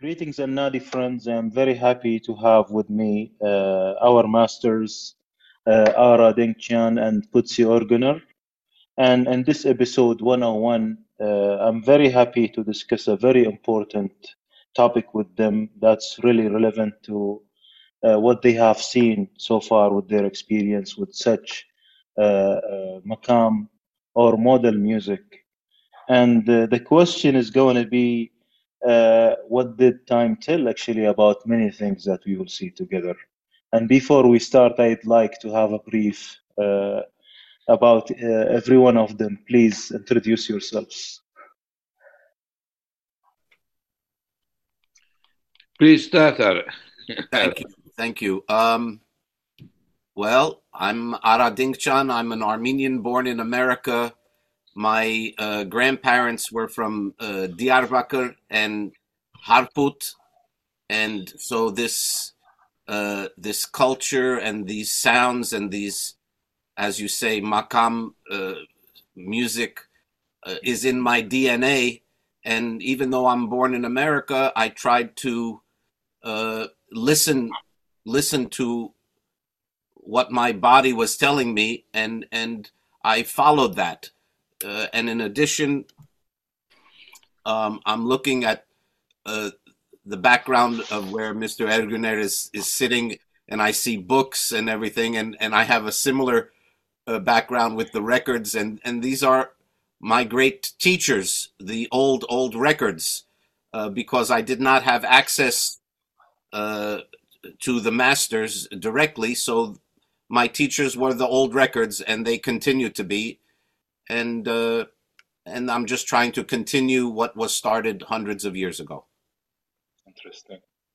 Greetings and Nadi friends. I'm very happy to have with me our masters, Ara Dengchan and Putsi Organer. And in this episode 101, I'm very happy to discuss a very important topic with them that's really relevant to what they have seen so far with their experience with such maqam or model music. And the question is going to be what did time tell actually about many things that we will see together. And before we start, I'd like to have a brief about every one of them. Please introduce yourselves. Please start, Ara. Thank you. Well, I'm Ara Dingchan. I'm an Armenian born in America. My grandparents were from Diyarbakir and Harput, and so this culture and these sounds and these, as you say, makam music is in my DNA. And even though I'm born in America, I tried to listen to what my body was telling me, and I followed that. And in addition, I'm looking at the background of where Mr. Erguner is sitting, and I see books and everything, and I have a similar background with the records, and these are my great teachers, the old records, because I did not have access to the masters directly, so my teachers were the old records, and they continue to be, and I'm just trying to continue what was started hundreds of years ago. Interesting.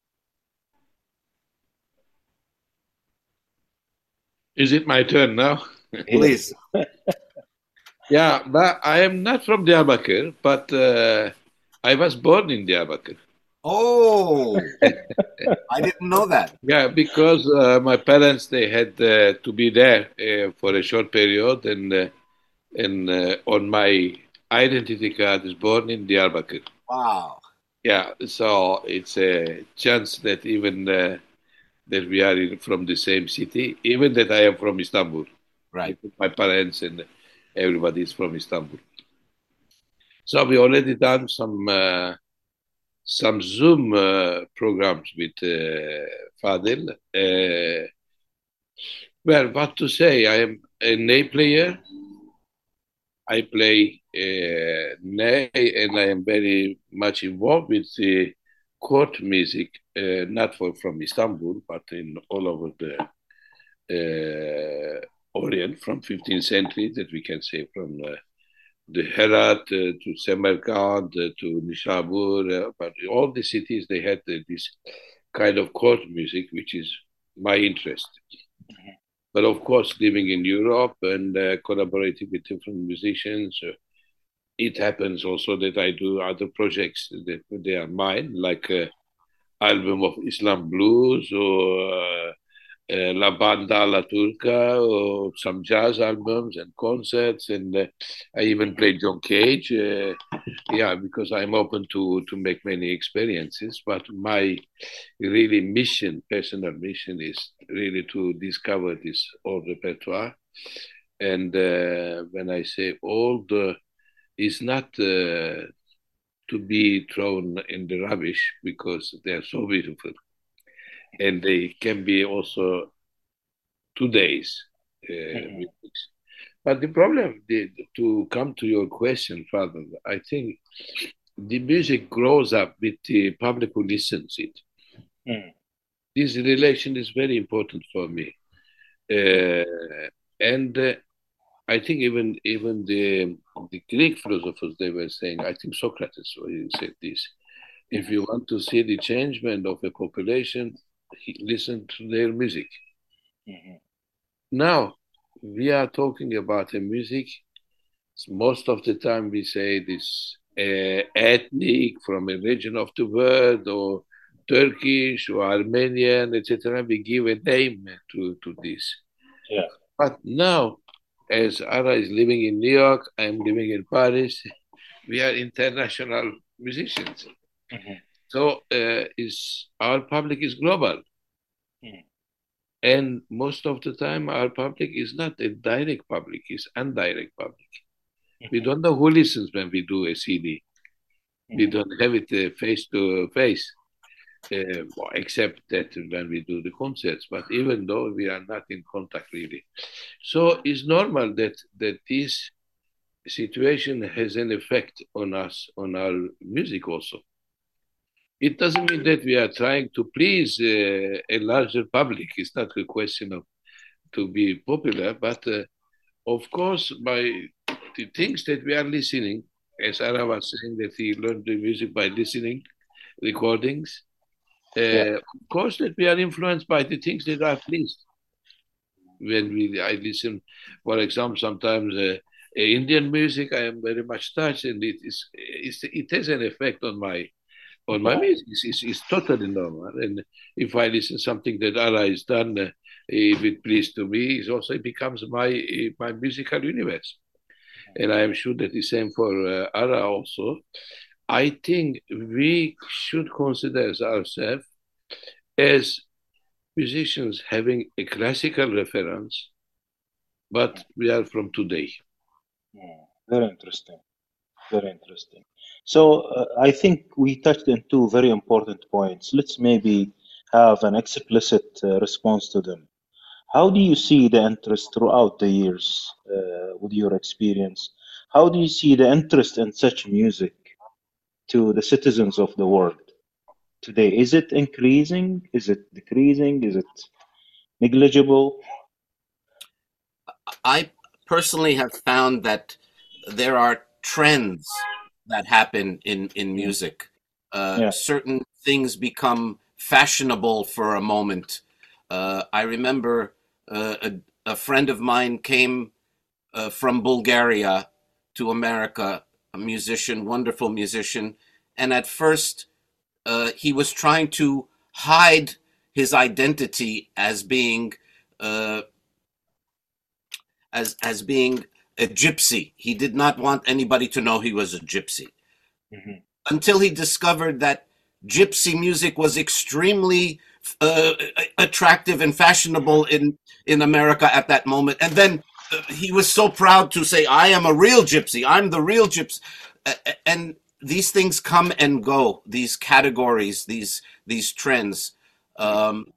Is it my turn now? Please. Yeah, but I am not from Diyarbakir, but I was born in Diyarbakir. Oh, I didn't know that. Yeah, because my parents, they had to be there for a short period, and on my identity card is born in Diyarbakir. Wow. Yeah, so it's a chance that even that we are from the same city, even that I am from Istanbul. Right. My parents and everybody is from Istanbul. So we already done some Zoom programs with Fadil. Well, what to say? I am a ney player. I play ney, and I am very much involved with the court music, not from Istanbul, but in all over the Orient, from 15th century, that we can say from the Herat to Samarkand to Nishabur, but all the cities, they had this kind of court music, which is my interest. Mm-hmm. But of course, living in Europe and collaborating with different musicians, it happens also that I do other projects that they are mine, like album of Islam blues or La Banda La Turca, or some jazz albums and concerts, and I even played John Cage. Yeah, because I'm open to make many experiences, but my really personal mission, is really to discover this old repertoire. And when I say old, it's not to be thrown in the rubbish, because they are so beautiful. And they can be also today's music. But the problem, to come to your question, Father, I think the music grows up with the public who listens it. This relation is very important for me. And I think even the Greek philosophers, they were saying, I think Socrates said this, if you want to see the changement of a population, listen to their music. Now, we are talking about a music. Most of the time we say this ethnic, from a region of the world, or Turkish or Armenian, etc. We give a name to this. Yeah. But now, as Ara is living in New York, I'm living in Paris, we are international musicians. So is our public is global, Mm. and most of the time our public is not a direct public; it's indirect public. We Mhm. don't know who listens when we do a CD. We Mhm. don't have it face to face, except that when we do the concerts. But even though we are not in contact really, so it's normal that this situation has an effect on us, on our music also. It doesn't mean that we are trying to please a larger public. It's not a question of to be popular, but of course, by the things that we are listening, as Ara was saying, that he learned the music by listening recordings. Yeah. Of course, that we are influenced by the things that are pleased. When I listen, for example, sometimes Indian music, I am very much touched, and it has an effect on my Yeah. music. It's totally normal. And if I listen something that Ara has done, if it pleased to me, it becomes my musical universe. And I am sure that the same for Ara also. I think we should consider ourselves as musicians having a classical reference, but we are from today. Very interesting. Very interesting. So I think we touched on two very important points. Let's maybe have an explicit response to them. How do you see the interest throughout the years with your experience? How do you see the interest in such music to the citizens of the world today? Is it increasing? Is it decreasing? Is it negligible? I personally have found that there are trends that happen in Mm. music. Yeah. Certain things become fashionable for a moment. I remember a friend of mine came from Bulgaria to America, a musician, wonderful musician, and at first he was trying to hide his identity as being uh, being a gypsy. He did not want anybody to know he was a gypsy Mhm. until he discovered that gypsy music was extremely attractive and fashionable in America at that moment. And then he was so proud to say, "I am a real gypsy. I'm the real gypsy." And these things come and go. These categories, these trends. Um,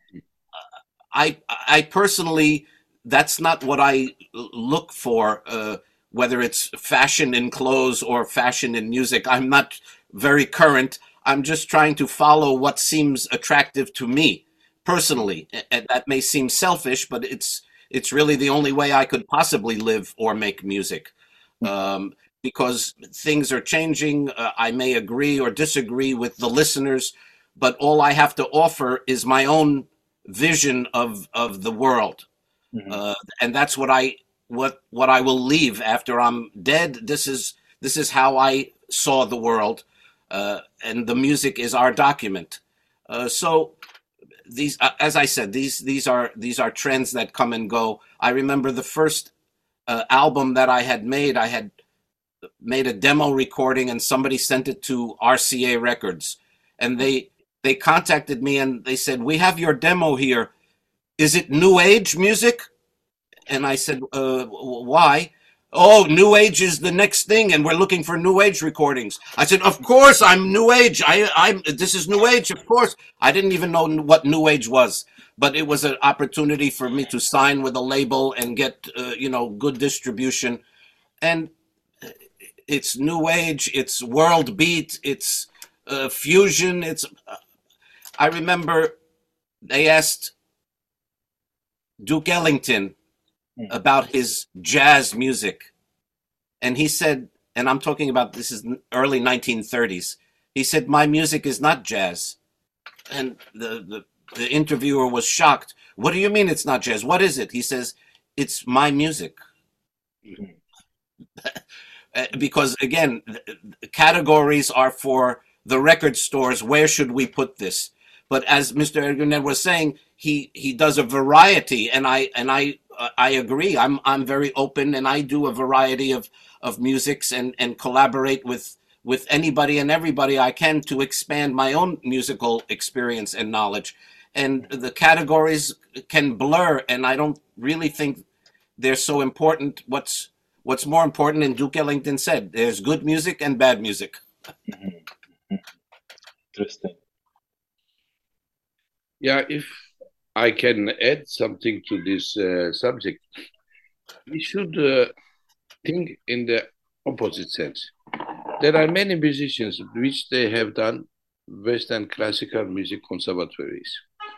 I personally, that's not what I look for. Whether it's fashion in clothes or fashion in music, I'm not very current. I'm just trying to follow what seems attractive to me personally, and that may seem selfish, but it's really the only way I could possibly live or make music. Um, because things are changing. I may agree or disagree with the listeners, but all I have to offer is my own vision of the world, Mhm. uh, and that's what I will leave after I'm dead. This is how I saw the world, and the music is our document. So these, as I said, these are trends that come and go. I remember the first album that I had made. I had made a demo recording, and somebody sent it to RCA Records, and they contacted me and they said, "We have your demo here. Is it new age music?" And I said, "Why?" "Oh, new age is the next thing, and we're looking for new age recordings." I said, "Of course, I'm new age. I'm this is new age, of course." I didn't even know what new age was, but it was an opportunity for me to sign with a label and get good distribution. And it's new age, it's world beat, it's fusion. It's I remember they asked Duke Ellington Mhm. about his jazz music, and he said, and I'm talking about this is early 1930s. He said, "My music is not jazz." And the interviewer was shocked. "What do you mean it's not jazz? What is it?" He says, "It's my music." Mhm. Because again, categories are for the record stores. Where should we put this? But as Mr. Ergunet was saying, he does a variety, and I agree. I'm very open, and I do a variety of musics and collaborate with anybody and everybody I can to expand my own musical experience and knowledge. And the categories can blur, and I don't really think they're so important. What's more important, and Duke Ellington said, there's good music and bad music. Interesting. Yeah, if I can add something to this subject, we should think in the opposite sense. There are many musicians which they have done Western classical music conservatories.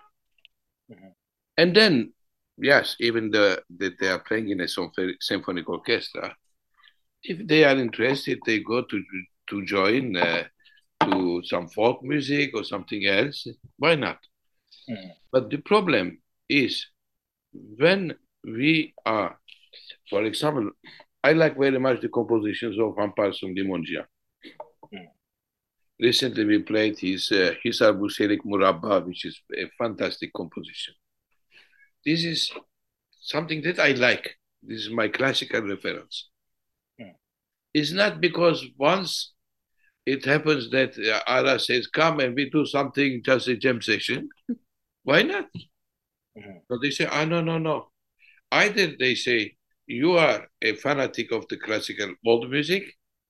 And then, yes, even that they are playing in a symphonic orchestra, if they are interested, they go to join to some folk music or something else. Why not? But the problem is when we are, for example, I like very much the compositions of Amparsum Limonjian. Recently, we played his Hisar Buselik Murabba, which is a fantastic composition. This is something that I like. This is my classical reference. It's not because once it happens that Ara says, come and we do something, just a jam session. Why not? So they say, no. Either they say, you are a fanatic of the classical old music,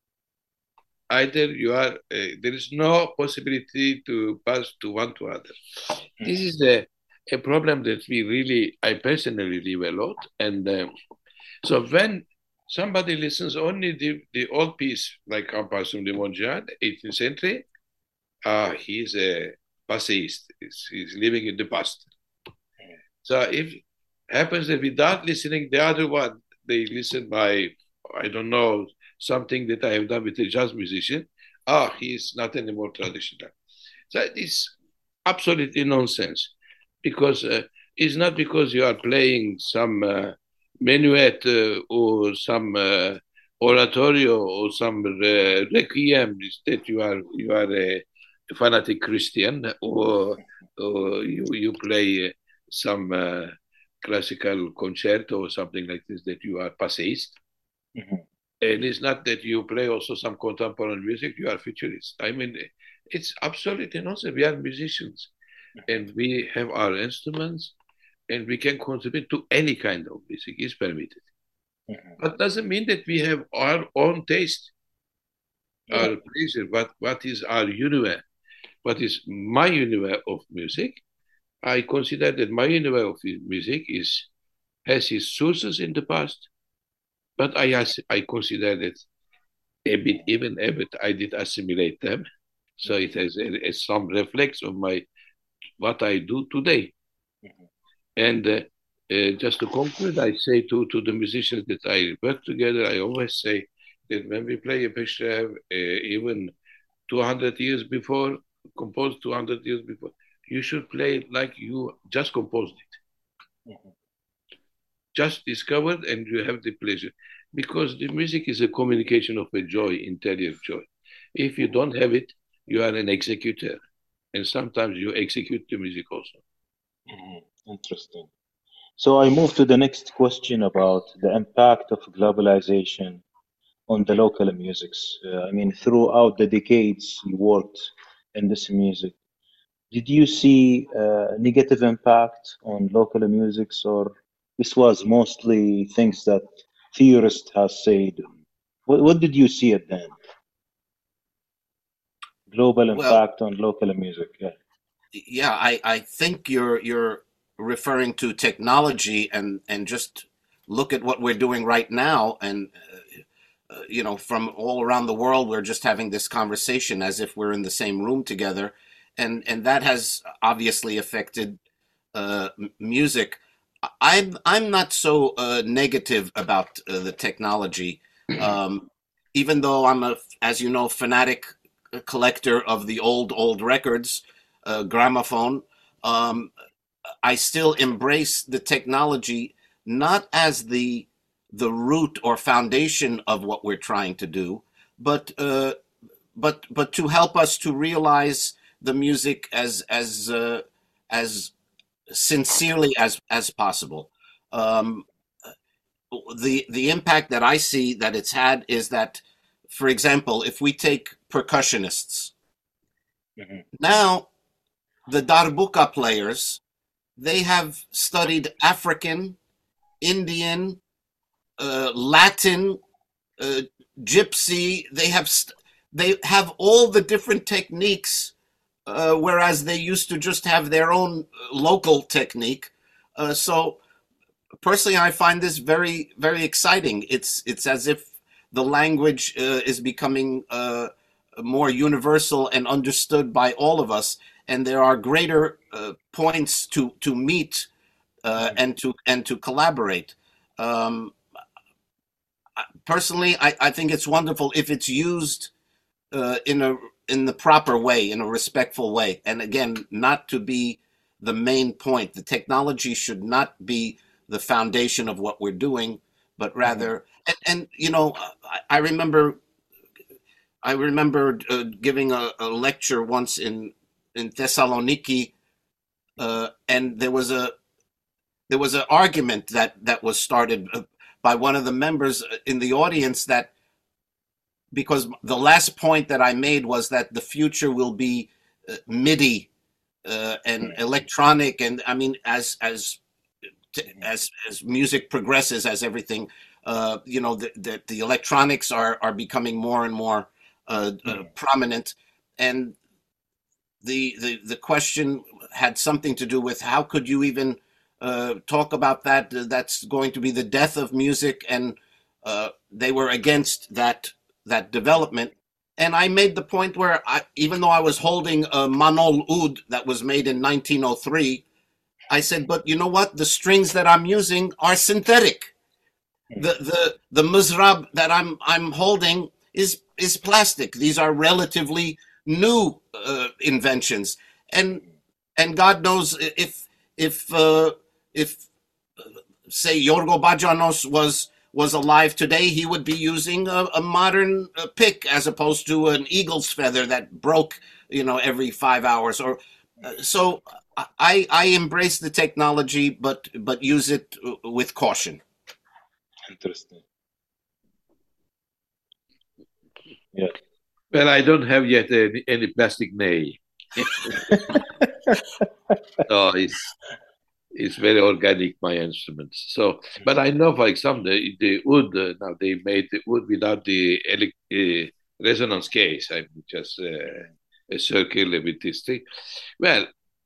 either you are, there is no possibility to pass to one to other. This is a problem that I personally live a lot. And so when somebody listens only the old piece, like Amparsum Limonjian, 18th century, he's a passeist. He's living in the past. So if happens that without listening the other one, they listen by, I don't know, something that I have done with a jazz musician, he's not anymore traditional. So it's absolutely nonsense, because it's not because you are playing some minuet or some oratorio or some requiem that you are a fanatic Christian, or you play some classical concerto or something like this, that you are passeist. And it's not that you play also some contemporary music, you are futurist. I mean, it's absolutely nonsense. We are musicians and we have our instruments and we can contribute to any kind of music, is permitted. But doesn't mean that we have our own taste, our pleasure. What is our universe? What is my universe of music? I consider that my universe of music has its sources in the past, but I consider that even a bit, I did assimilate them. So it has some reflex of what I do today. And just to conclude, I say to the musicians that I work together, I always say that when we play a Peshev, even 200 years before, composed 200 years before, you should play it like you just composed it. Just discovered, and you have the pleasure. Because the music is a communication of a joy, interior joy. If you don't have it, you are an executor. And sometimes you execute the music also. Interesting. So I move to the next question about the impact of globalization on the local musics. I mean, throughout the decades you worked in this music, did you see negative impact on local musics, or this was mostly things that theorists have said? What did you see at then? Global impact on local music. Yeah, I think you're referring to technology, and just look at what we're doing right now, and from all around the world, we're just having this conversation as if we're in the same room together, and that has obviously affected music. I'm not so negative about the technology, even though I'm as you know, fanatic collector of the old records, gramophone. I still embrace the technology, not as the root or foundation of what we're trying to do, but to help us to realize the music as sincerely as possible. The impact that I see that it's had is that, for example, if we take percussionists. Mhm. Now, the darbuka players, they have studied African, Indian, Latin, uh, gypsy. They have all the different techniques, whereas they used to just have their own local technique. So personally, I find this very, very exciting. It's as if the language is becoming more universal and understood by all of us, and there are greater points to meet and to collaborate. Um, Personally, I think it's wonderful if it's used in a in the proper way, in a respectful way, and again, not to be the main point. The technology should not be the foundation of what we're doing, but rather, and you know, I remember giving a lecture once in Thessaloniki, and there was an argument that was started by one of the members in the audience, that because the last point that I made was that the future will be MIDI and electronic, and I mean, as music progresses, as everything, you know, the electronics are becoming more and more prominent, and the question had something to do with how could you even talk about that? That's going to be the death of music, and they were against that development. And I made the point where even though I was holding a Manol Oud that was made in 1903, I said, but you know what? The strings that I'm using are synthetic. The muzrab that I'm holding is plastic. These are relatively new inventions, and God knows if say Yorgo Bajanos was alive today, he would be using a modern pick as opposed to an eagle's feather that broke, you know, every 5 hours. Or so I embrace the technology, but use it with caution. Interesting. Yes. Well, I don't have yet any plastic nail. So it's very organic, my instruments. So, but I know, for example, the wood, now they made the wood without the resonance case. I mean, just a circle with this thing. Well,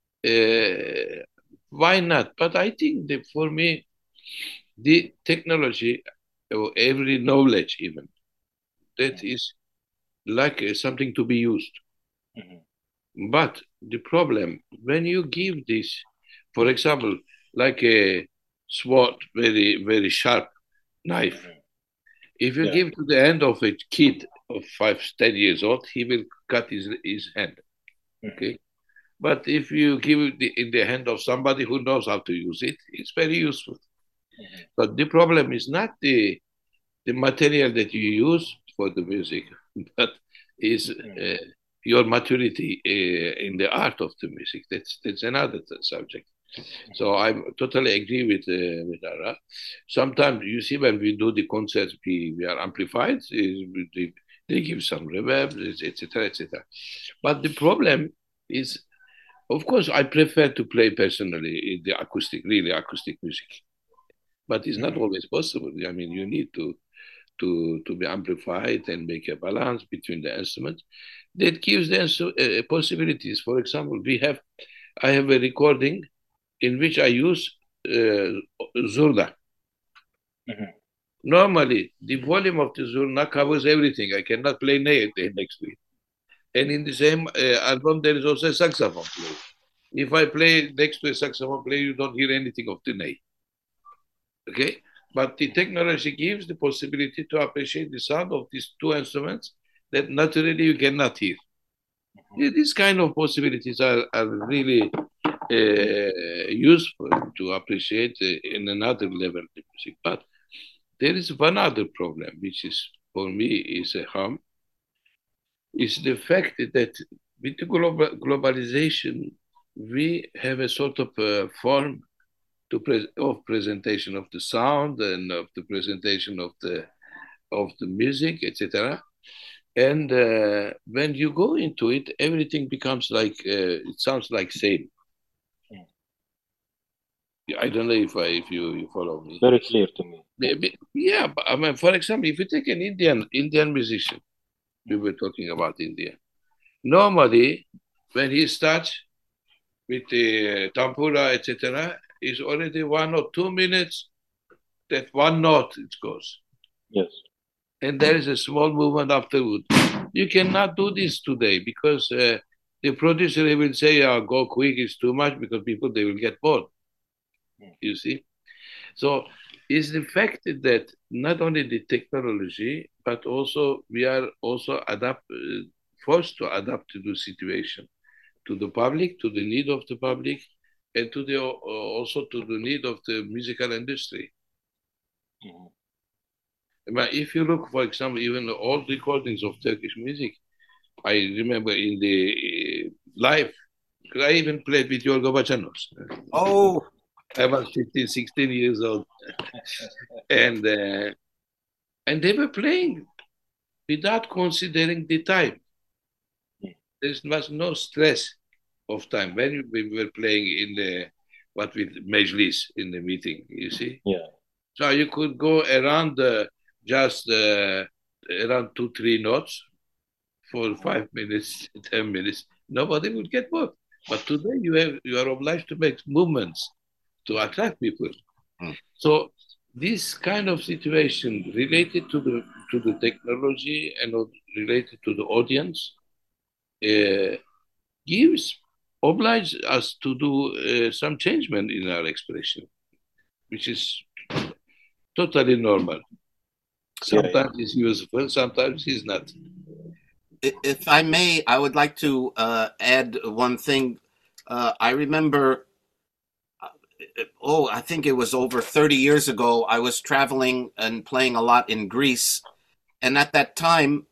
why not? But I think that for me, the technology, or every knowledge even, that is like something to be used. But the problem, when you give this, for example, like a sword, very, very sharp knife, if you Yeah. give to the hand of a kid of 5, 10 years old, he will cut his hand. Okay. But if you give it in the hand of somebody who knows how to use it, it's very useful. But the problem is not the material that you use for the music, but is your maturity in the art of the music. That's another subject. So I totally agree with Ara. Sometimes you see when we do the concerts, we are amplified. They give some reverb, etc., etc. But the problem is, of course, I prefer to play personally the acoustic, really acoustic music. But it's not always possible. I mean, you need to be amplified and make a balance between the instruments. That gives them possibilities. For example, I have a recording in which I use zurna. Normally, the volume of the zurna covers everything. I cannot play ney next to it. And in the same album, there is also a saxophone player. If I play next to a saxophone player, you don't hear anything of the ney. Okay? But the technology gives the possibility to appreciate the sound of these two instruments that naturally you cannot hear. These kind of possibilities are really useful to appreciate in another level the music. But there is one other problem, which is for me is a harm, is the fact that with the globalization, we have a sort of form of presentation of the sound and of the presentation of the music, etc., And when you go into it, everything becomes like it sounds like same. I don't know if you follow me. Very clear to me. Yeah, but I mean, for example, if you take an Indian musician, we were talking about India. Normally, when he starts with the tampura, etc., is already 1 or 2 minutes. That one note it goes, Yes. and there is a small movement afterward. You cannot do this today because the producer will say, "Oh, go quick, it's too much," because people they will get bored. You see, so it's the fact that not only the technology, but also we are also forced to adapt to the situation, to the public, to the need of the public, and to the also to the need of the musical industry. But if you look, for example, even the old recordings of Turkish music, I remember in the live, because I even played with Yorgo Bacanos. Oh, I was 15, 16 years old. And they were playing without considering the time. There was no stress of time when we were playing in the what with Mejlis in the meeting, you see. Yeah. So you could go around just around 2, 3 notes for 5 minutes, 10 minutes. Nobody would get bored. But today you are obliged to make movements to attract people. So this kind of situation related to the technology and related to the audience obliges us to do some changement in our expression, which is totally normal. Sometimes it's useful, sometimes it's not. If I may, I would like to add one thing. I remember, I think it was over 30 years ago, I was traveling and playing a lot in Greece. And at that time,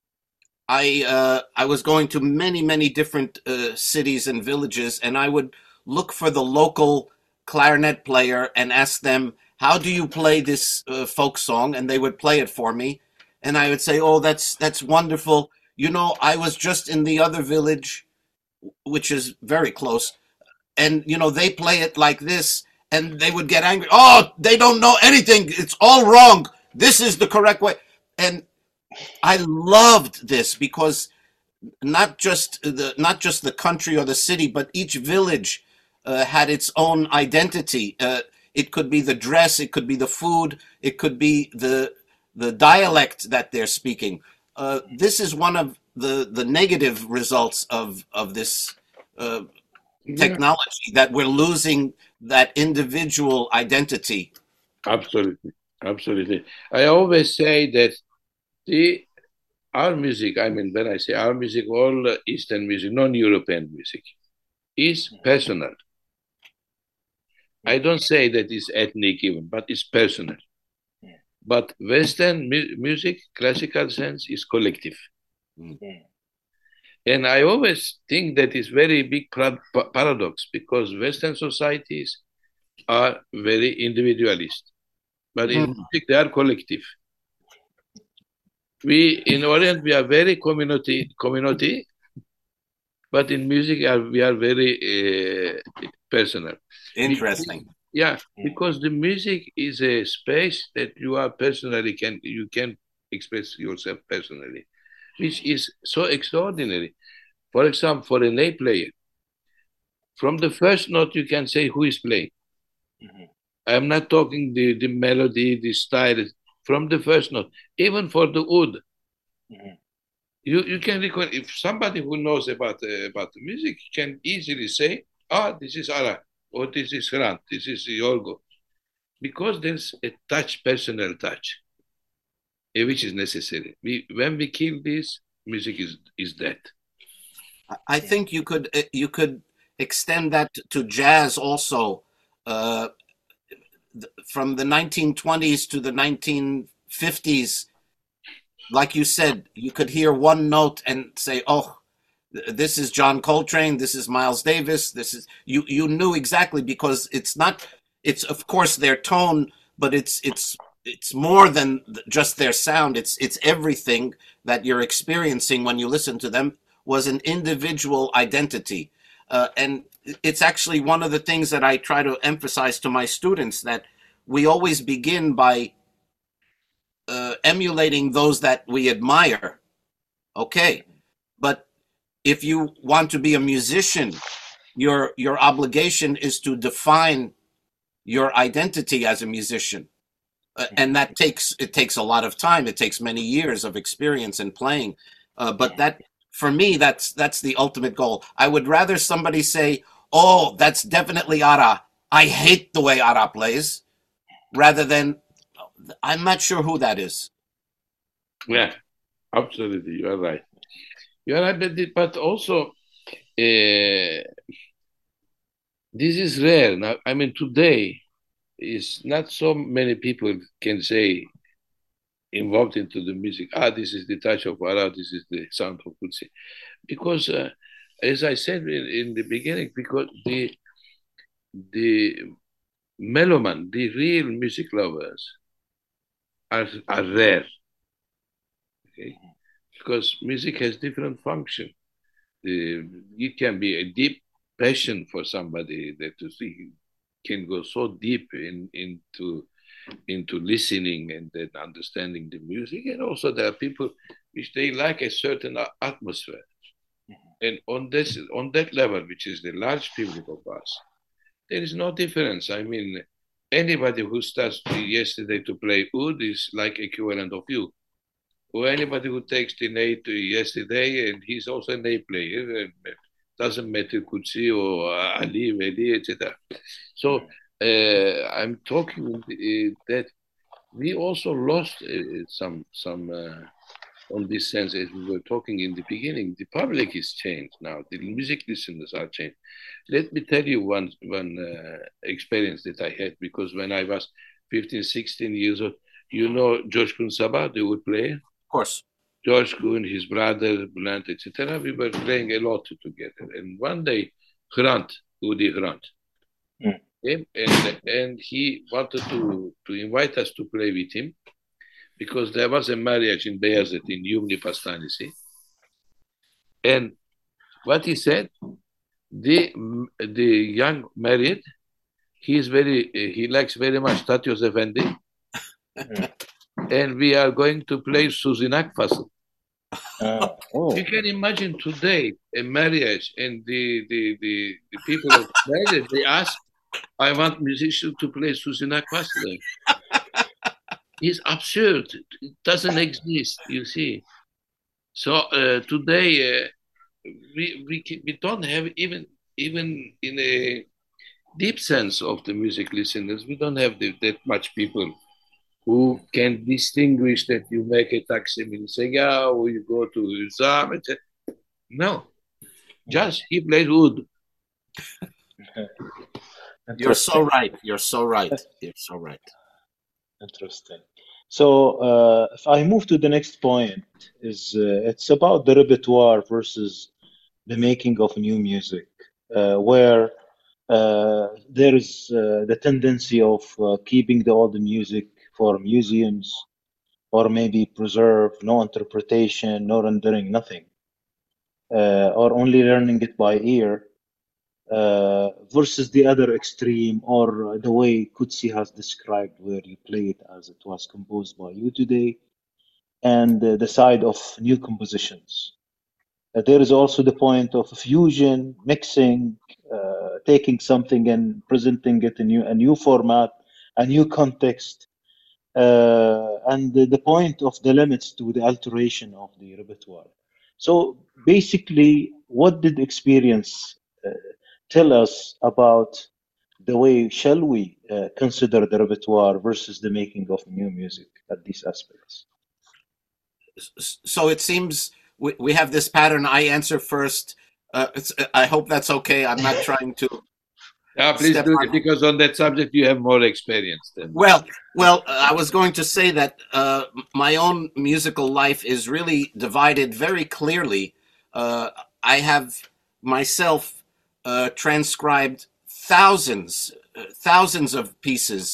I was going to many different cities and villages, and I would look for the local clarinet player and ask them, "How do you play this folk song?" And they would play it for me, and I would say, "Oh, that's wonderful. You know, I was just in the other village, which is very close, and you know they play it like this," and they would get angry. "Oh, they don't know anything. It's all wrong. This is the correct way." And I loved this because not just the country or the city, but each village had its own identity. It could be the dress, it could be the food, it could be the dialect that they're speaking. This is one of the negative results of this technology, that we're losing that individual identity. Absolutely. I always say that our music, I mean, when I say our music, all Eastern music, non-European music, is personal. I don't say that it's ethnic even, but it's personal. But Western music, classical sense, is collective. And I always think that is very big paradox, because Western societies are very individualist, but in music they are collective. We in Orient we are very community, but in music we are very personal. Interesting. Because the music is a space that you are personally you can express yourself personally, which is so extraordinary. For example, for an A player, from the first note you can say who is playing. I'm not talking the melody, the style, from the first note. Even for the oud, you can recall, if somebody who knows about the music can easily say, this is Ara, or this is Hrant, this is Yorgo, because there's a touch, personal touch, which is necessary. When we kill this, music is dead. I think you could extend that to jazz also. From the 1920s to the 1950s, like you said, you could hear one note and say, "Oh, this is John Coltrane, this is Miles Davis, this is," you knew exactly, because it's of course their tone, but it's it's more than just their sound. It's everything that you're experiencing when you listen to them was an individual identity, and it's actually one of the things that I try to emphasize to my students, that we always begin by emulating those that we admire. Okay, but if you want to be a musician, your obligation is to define your identity as a musician. And that takes a lot of time. It takes many years of experience in playing. But that, for me, that's the ultimate goal. I would rather somebody say, "Oh, that's definitely Ara. I hate the way Ara plays," rather than, "I'm not sure who that is." Yeah, absolutely. You are right. You are right, but also this is rare. Now, I mean, today is not so many people can say involved into the music. This is the touch of Ara. This is the sound of Kutsi. Because, as I said in the beginning, because the meloman, the real music lovers, are rare. Okay, because music has different function. It can be a deep passion for somebody that to see can go so deep into listening and then understanding the music, and also there are people which they like a certain atmosphere, and on that level, which is the large public of us, there is no difference. I mean, anybody who starts yesterday to play oud is like equivalent of you, or anybody who takes the ney to yesterday, and he's also a ney player, and doesn't matter Kutsi or Ali, Veli, etc. So I'm talking that we also lost some on this sense, as we were talking in the beginning. The public is changed now. The music listeners are changed. Let me tell you one experience that I had, because when I was 15, 16 years old, you know George Kun Sabah, the oud player? Of course. George Kun, his brother, Bülent, etc. We were playing a lot together. And one day, Hrant, Udi Hrant, came, and he wanted to invite us to play with him, because there was a marriage in Beyazıt, in Yumni Pastanesi. And what he said, the young married, he likes very much Tatyos Efendi, and we are going to play Suzinak Fasıl. You can imagine today a marriage, and the people of marriage, they ask, "I want musicians to play Suzinak Fasıl." It's absurd. It doesn't exist, you see. So today we don't have, even in a deep sense of the music listeners, we don't have that much people who can distinguish that you make a Taksim Sega or you go to Uzam, etc. No, just he plays oud. You're so right. You're so right. You're so right. Interesting. So if I move to the next point, it's about the repertoire versus the making of new music, where there is the tendency of keeping the old music for museums, or maybe preserve, no interpretation, no rendering, nothing, or only learning it by ear, versus the other extreme, or the way Kutsi has described, where you play it as it was composed by you today, and the side of new compositions. There is also the point of fusion, mixing, taking something and presenting it in a new format, a new context, and the point of the limits to the alteration of the repertoire. So basically, what did experience tell us about the way shall we consider the repertoire versus the making of new music at these aspects? So it seems we have this pattern. I answer first. I hope that's okay. I'm not trying to. Please do it, because on that subject you have more experience than. Well, I was going to say that my own musical life is really divided very clearly. I have myself transcribed thousands of pieces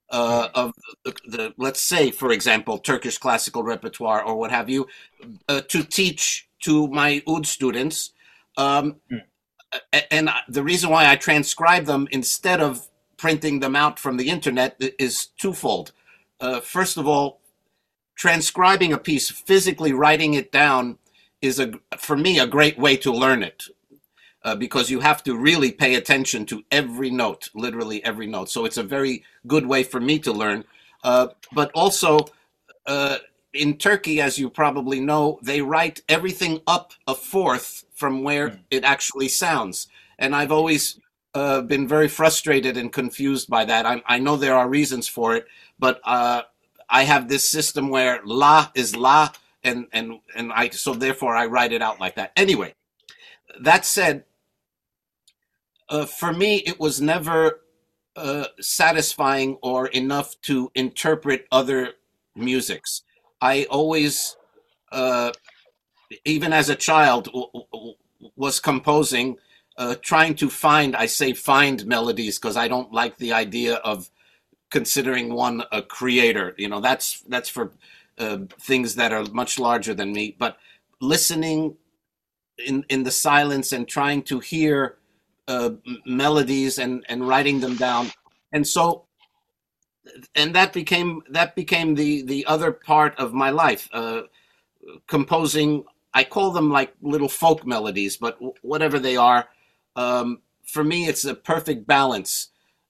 of let's say, for example, Turkish classical repertoire or what have you, to teach to my oud students. Um, and the reason why I transcribe them instead of printing them out from the internet is twofold. First of all, transcribing a piece, physically writing it down, is for me a great way to learn it. Because you have to really pay attention to every note, literally every note. So it's a very good way for me to learn. But also, uh, in Turkey, as you probably know, they write everything up a fourth from where it actually sounds. And I've always been very frustrated and confused by that. I know there are reasons for it, but I have this system where la is la, and I so therefore I write it out like that. Anyway, that said, for me, it was never satisfying or enough to interpret other musics. I always, uh, even as a child, was composing, trying to find, I say find melodies because I don't like the idea of considering one a creator. You know, that's for things that are much larger than me. But listening in the silence and trying to hear melodies and writing them down. And so, and that became the other part of my life, composing. I call them like little folk melodies, but whatever they are, for me it's a perfect balance,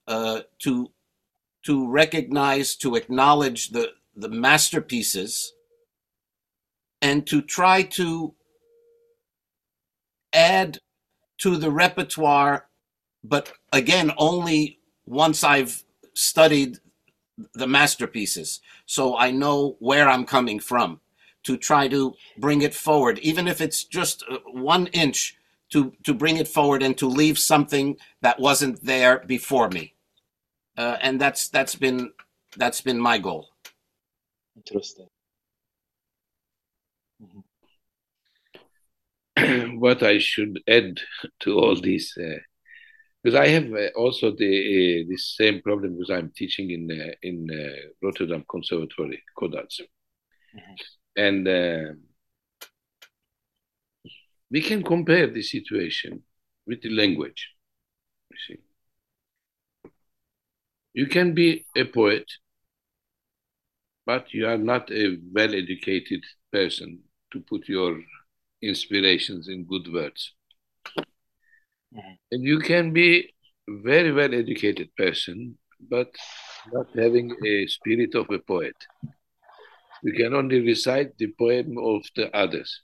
to recognize, to acknowledge the masterpieces, and to try to add to the repertoire, but again, only once I've studied the masterpieces. So I know where I'm coming from, to try to bring it forward, even if it's just 1 inch, to bring it forward and to leave something that wasn't there before me. And that's been my goal. Interesting. What I should add to all this, because I have also the same problem because I'm teaching in Rotterdam Conservatory, Codarts, and we can compare the situation with the language. You see, you can be a poet, but you are not a well-educated person to put your inspirations in good words. And you can be a very well-educated person, but not having a spirit of a poet. You can only recite the poem of the others.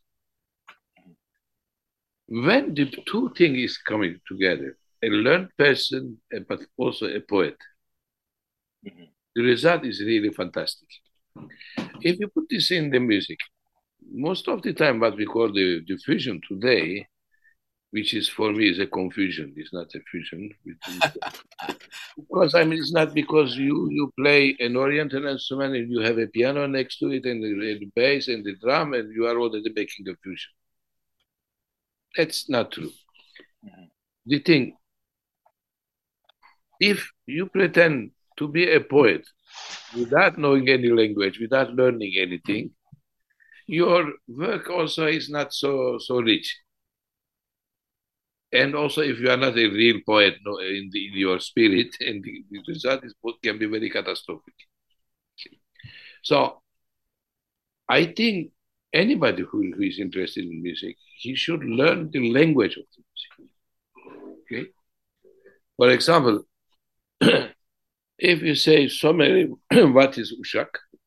When the two things is coming together, a learned person, but also a poet, the result is really fantastic. If you put this in the music, most of the time what we call the fusion today, which is for me is a confusion, it's not a fusion. Because I mean, it's not because you play an Oriental instrument and you have a piano next to it and the bass and the drum and you are already making a fusion. That's not true. The thing, if you pretend to be a poet without knowing any language, without learning anything, your work also is not so rich. And also, if you are not a real poet in your spirit, and the result is can be very catastrophic. So, I think anybody who is interested in music, he should learn the language of the music. Okay. For example, if you say somebody, what is Uşak?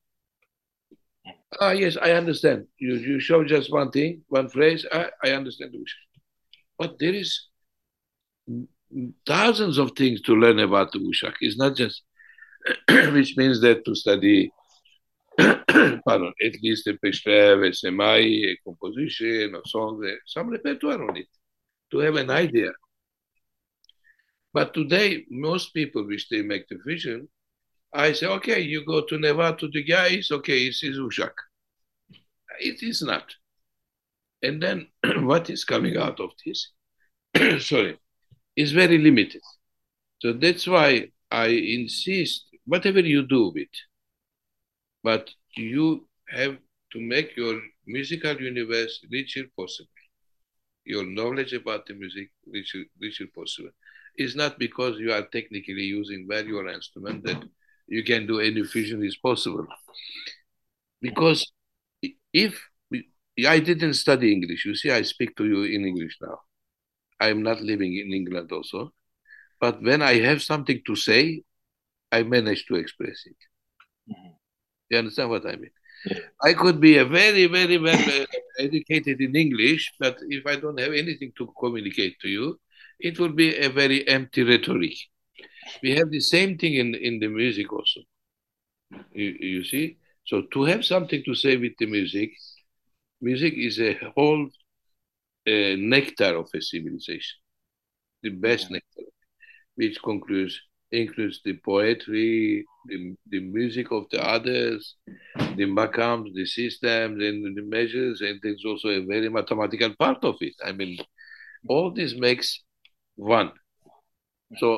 Yes, I understand. You show just one thing, one phrase. I understand Uşak. But there is thousands of things to learn about the Uşak. It's not just, which means that to study, pardon, at least a peshrev, a semai, a composition, a song, some repertoire on it, to have an idea. But today, most people, which they make the vision, I say, okay, you go to Neva, to the guys, okay, it is Uşak. It is not. And then what is coming out of this, sorry, is very limited. So that's why I insist whatever you do with, but you have to make your musical universe richer possible. Your knowledge about the music richer possible. It's not because you are technically using well your instrument that you can do any fusion is possible. Because if I didn't study English, you see, I speak to you in English now. I'm not living in England also. But when I have something to say, I manage to express it. You understand what I mean? Yeah. I could be a very, very well educated in English, but if I don't have anything to communicate to you, it will be a very empty rhetoric. We have the same thing in the music also. You see? So to have something to say with the music is a whole nectar of a civilization, the best nectar, which includes the poetry, the music of the others, the maqams, the systems, and the measures, and there's also a very mathematical part of it. I mean, all this makes one. So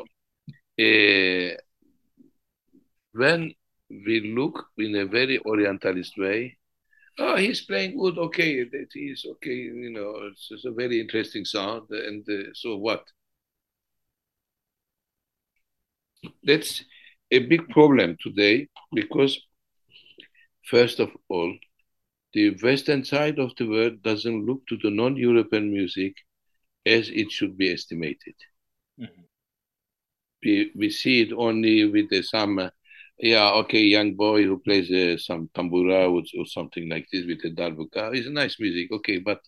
when we look in a very Orientalist way, oh, he's playing good, okay, that is okay, you know, it's a very interesting sound, and so what? That's a big problem today because, first of all, the Western side of the world doesn't look to the non-European music as it should be estimated. Mm-hmm. We see it only with some, young boy who plays some tambura or something like this with a darbuka. It's nice music, okay, but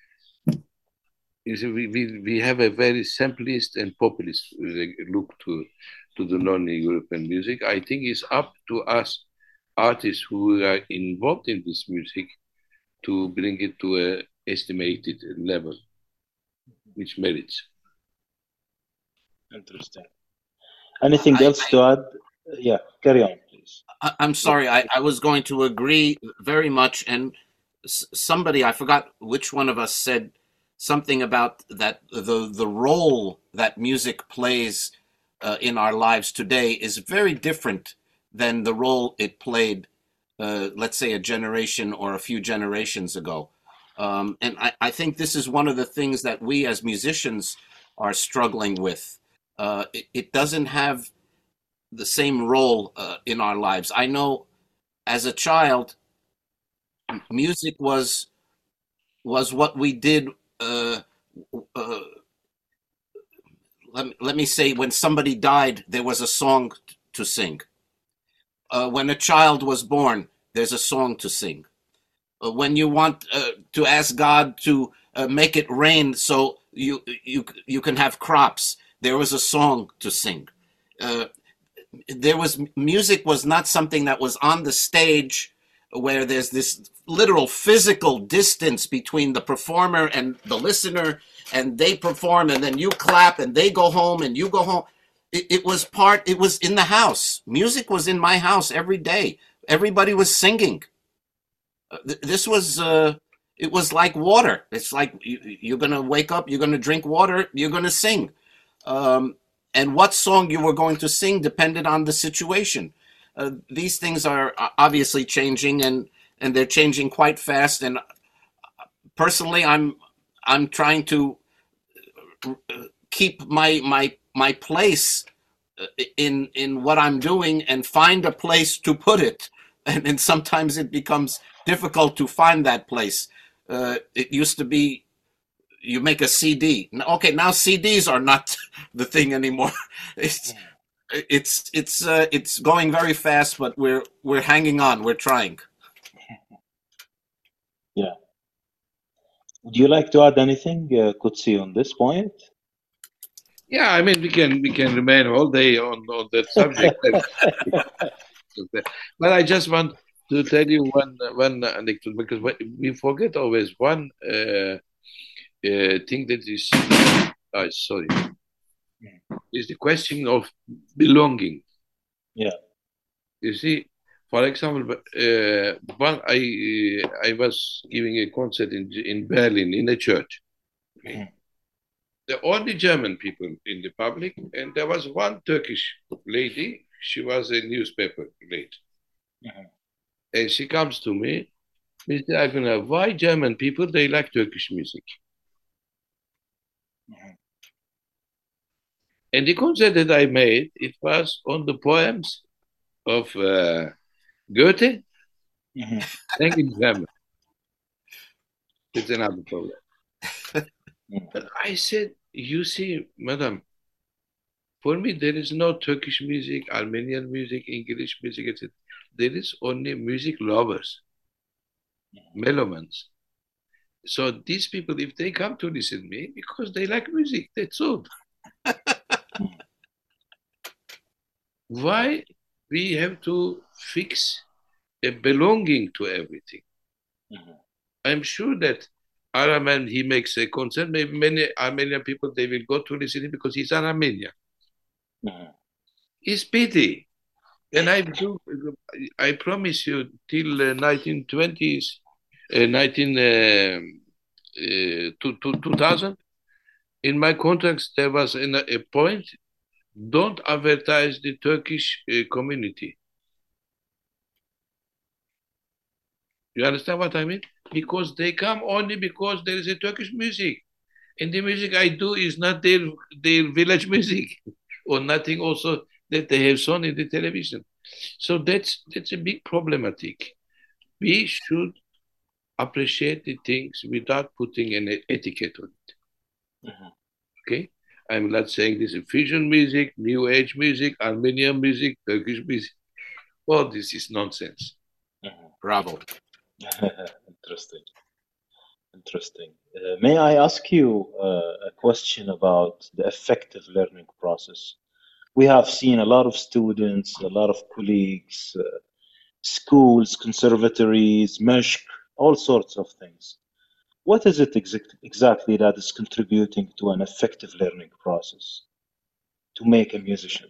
we have a very simplest and populist look to the non-European music. I think it's up to us artists who are involved in this music to bring it to an estimated level, which merits. Interesting. Anything else to add? Yeah, carry on, please. I'm sorry, I was going to agree very much, and somebody, I forgot which one of us, said something about that the role that music plays in our lives today is very different than the role it played, let's say, a generation or a few generations ago. And I think this is one of the things that we as musicians are struggling with. It doesn't have the same role in our lives. I know as a child, music was what we did. Let me say, when somebody died, there was a song to sing. When a child was born, there's a song to sing. When you want to ask God to make it rain so you can have crops, there was a song to sing. Music was not something that was on the stage where there's this literal physical distance between the performer and the listener, and they perform and then you clap and they go home and you go home. It was in the house. Music was in my house every day. Everybody was singing. This was, it was like water. It's like you're going to wake up, you're going to drink water, you're going to sing. And what song you were going to sing depended on the situation. These things are obviously changing, and they're changing quite fast. And personally, I'm trying to keep my place in what I'm doing and find a place to put it. And sometimes it becomes difficult to find that place. It used to be you make a CD. Okay, now CDs are not the thing anymore. It's going very fast, but we're hanging on. We're trying. Yeah. Would you like to add anything, Kutsi, on this point? Yeah, I mean, we can remain all day on that subject. But I just want to tell you one anecdote, because we forget always one thing that is is the question of belonging. Yeah. You see, for example, I was giving a concert in Berlin in a church. Okay. The only German people in the public, and there was one Turkish lady She was a newspaper lady. Mhm. And she comes to me, Mr. Akpınar, why German people, they like Turkish music? Mhm. And the concert that I made, it was on the poems of Goethe Mhm. and in German. It's another problem. Mhm. But I said, you see, madam, for me, there is no Turkish music, Armenian music, English music, etc. There is only music lovers, melomans. So these people, if they come to listen to me, because they like music, that's all. Why we have to fix a belonging to everything? Mhm. I'm sure that Araman, he makes a concert. Maybe many Armenian people, they will go to listen to him because he's an Armenian. Mhm. It's pity. And I promise you, till 1920s, 2000, in my contracts, there was a point, don't advertise the Turkish community. You understand what I mean? Because they come only because there is a Turkish music. And the music I do is not their village music or nothing also that they have shown in the television. So that's a big problematic. We should appreciate the things without putting an etiquette on it. Mhm. Okay? I'm not saying this is fusion music, new age music, Armenian music, Turkish music. All this is nonsense. Mhm. Bravo. Interesting. Interesting. May I ask you a question about the effective learning process? We have seen a lot of students, a lot of colleagues, schools, conservatories, MESHK, all sorts of things. What is it exactly that is contributing to an effective learning process to make a musician?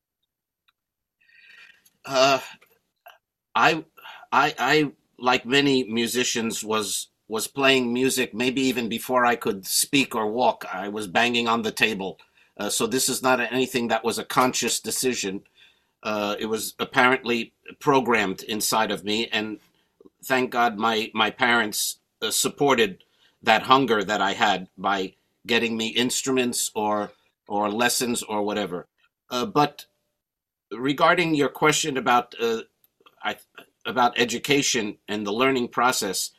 Uh, I, I, like many musicians, was playing music maybe even before I could speak or walk. I was banging on the table. So this is not anything that was a conscious decision. It was apparently programmed inside of me, and thank God my parents supported that hunger that I had by getting me instruments or lessons or whatever. But regarding your question I, about education and the learning process,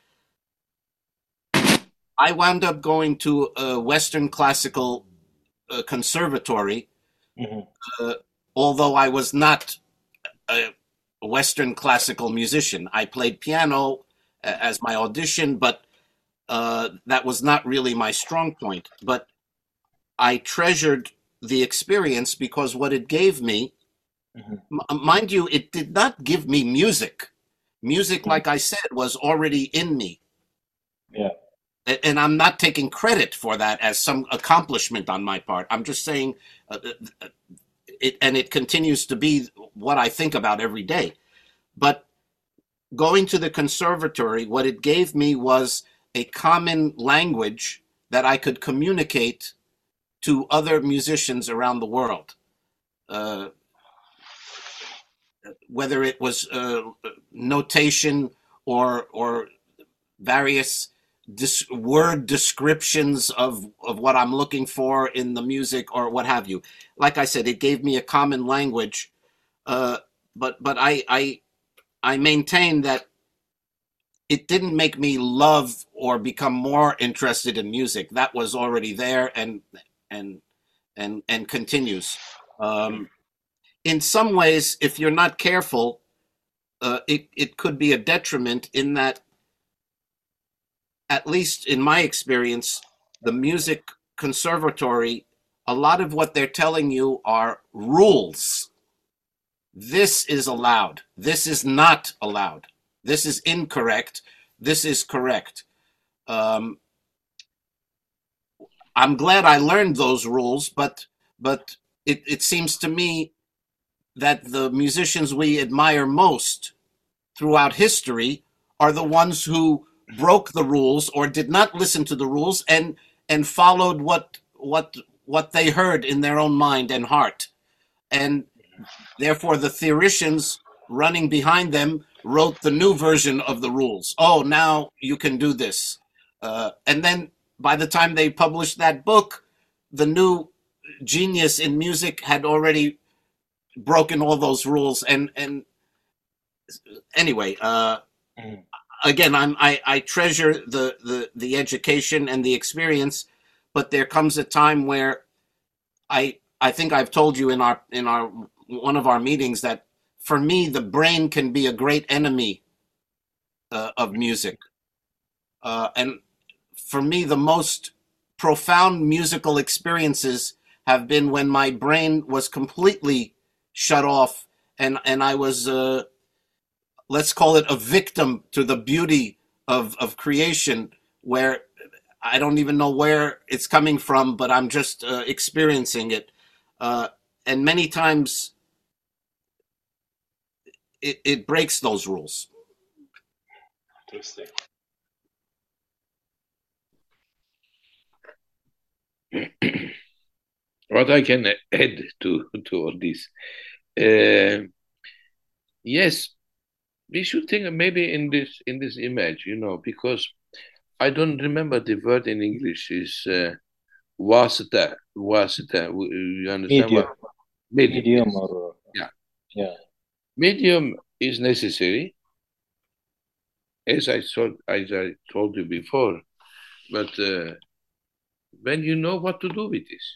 I wound up going to a Western classical conservatory, Mhm. uh, although I was not a Western classical musician. I played piano as my audition, but that was not really my strong point. But I treasured the experience because what it gave me, Mhm. mind you, it did not give me music. Music, Mhm. like I said, was already in me. Yeah. And I'm not taking credit for that as some accomplishment on my part. I'm just saying it continues to be what I think about every day. But going to the conservatory, what it gave me was a common language that I could communicate to other musicians around the world. Uh, Whether it was notation or various word descriptions of what I'm looking for in the music or what have you. Like I said, it gave me a common language. Uh, but I maintain that it didn't make me love or become more interested in music. That was already there and and continues. Um, in some ways, if you're not careful, it could be a detriment in that, at least in my experience, the music conservatory, a lot of what they're telling you are rules. This is allowed. This is not allowed. This is incorrect. This is correct. Um, I'm glad I learned those rules, but it seems to me that the musicians we admire most throughout history are the ones who broke the rules or did not listen to the rules and followed what they heard in their own mind and heart. And therefore the theoricians running behind them wrote the new version of the rules. Oh, now you can do this. And then by the time they published that book, the new genius in music had already broken all those rules. And anyway, again, I treasure the education and the experience, but there comes a time where I think I've told you in our one of our meetings that for me the brain can be a great enemy of music, and for me the most profound musical experiences have been when my brain was completely shut off and I was let's call it a victim to the beauty of creation, where I don't even know where it's coming from, but I'm just experiencing it. And many times it breaks those rules. Interesting. What I can add to all this, yes, we should think maybe in this image, because I don't remember the word in English. Is wasita, wasita. You understand Medium. what? Medium. Medium Yes. or yeah. Medium is necessary, as I told you before. But when you know what to do with this,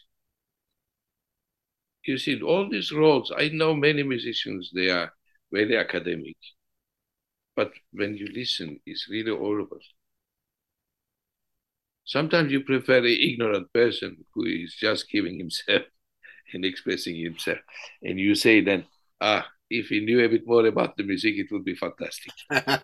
you see all these roles. I know many musicians; they are very academic, but when you listen, it's really horrible. Sometimes you prefer an ignorant person who is just giving himself and expressing himself. And you say then, if he knew a bit more about the music, it would be fantastic.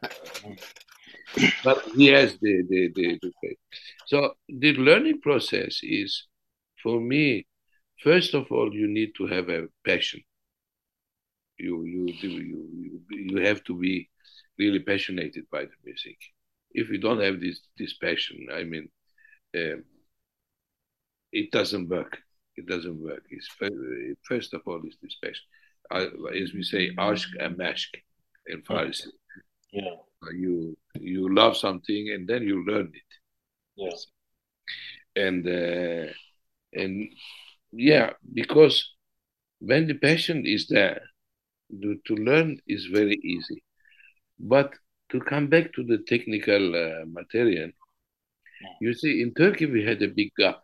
But he has the So the learning process is, for me, first of all, you need to have a passion. You have to be really passionate by the music. If you don't have this passion, I mean, it doesn't work. It doesn't work. First of all, it's this passion. As we say, ashk and mashk in Farsi. Yeah. You love something and then you learn it. Yes. And yeah, because when the passion is there, to learn is very easy. But to come back to the technical material, you see, in Turkey we had a big gap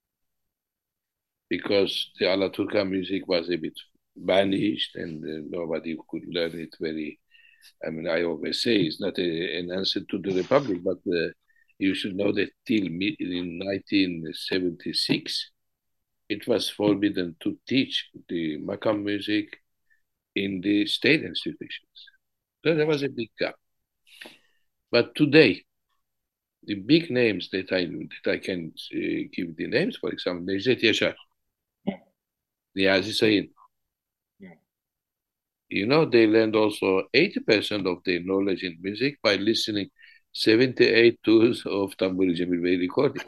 because the Alaturka music was a bit vanished and nobody could learn it very. I mean, I always say it's not an answer to the Republic, but you should know that till in 1976, it was forbidden to teach the Makam music in the state institutions. So there was a big gap. But today, the big names that I can give the names, for example, Necdet Yaşar, Niyazi Sayın. They learned also 80% of their knowledge in music by listening 78 tours of Tamburi Cemil Bey recordings.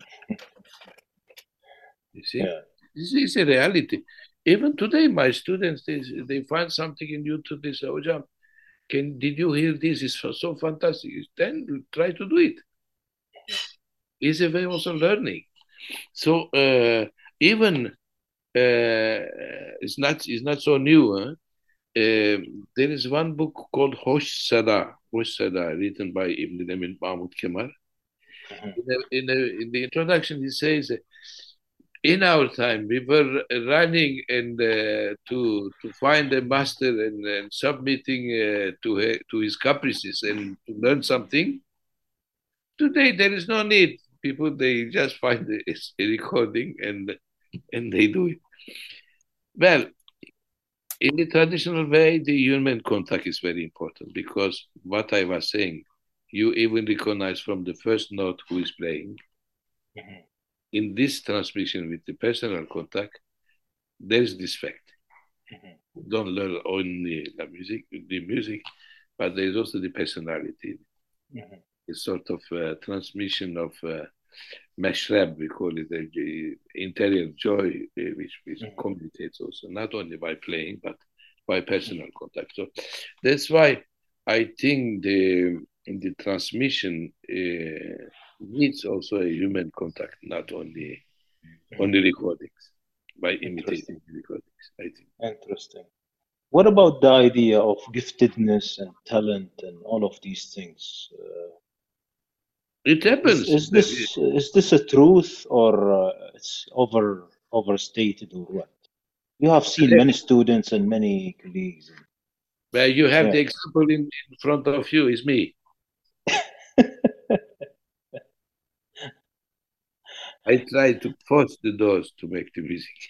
You see? Yeah. This is a reality. Even today, my students, they find something in YouTube, they say, Hocam, did you hear this? It's so fantastic. Then try to do it. It's a way also learning. So even it's not so new. Huh? There is one book called Hoş Sada, written by Ibn Emin Mahmud Kemal. In the introduction, he says, in our time, we were running and to find a master and submitting to his caprices and to learn something. Today, there is no need. People, they just find a recording and they do it. Well, in the traditional way, the human contact is very important because what I was saying, you even recognize from the first note who is playing. Mm-hmm. In this transmission with the personal contact, there is this fact. Mm-hmm. Don't learn only the music, but there is also the personality. Mm-hmm. A sort of transmission of mashrab, we call it, interior joy, which communicates also, not only by playing, but by personal contact. So that's why I think the transmission needs also a human contact, not only recordings, by imitating the recordings, I think. Interesting. What about the idea of giftedness and talent and all of these things? It happens. Is this a truth, or it's overstated, or what? You have seen many students and many colleagues. But you have the example in front of you, is me. I try to force the doors to make the music.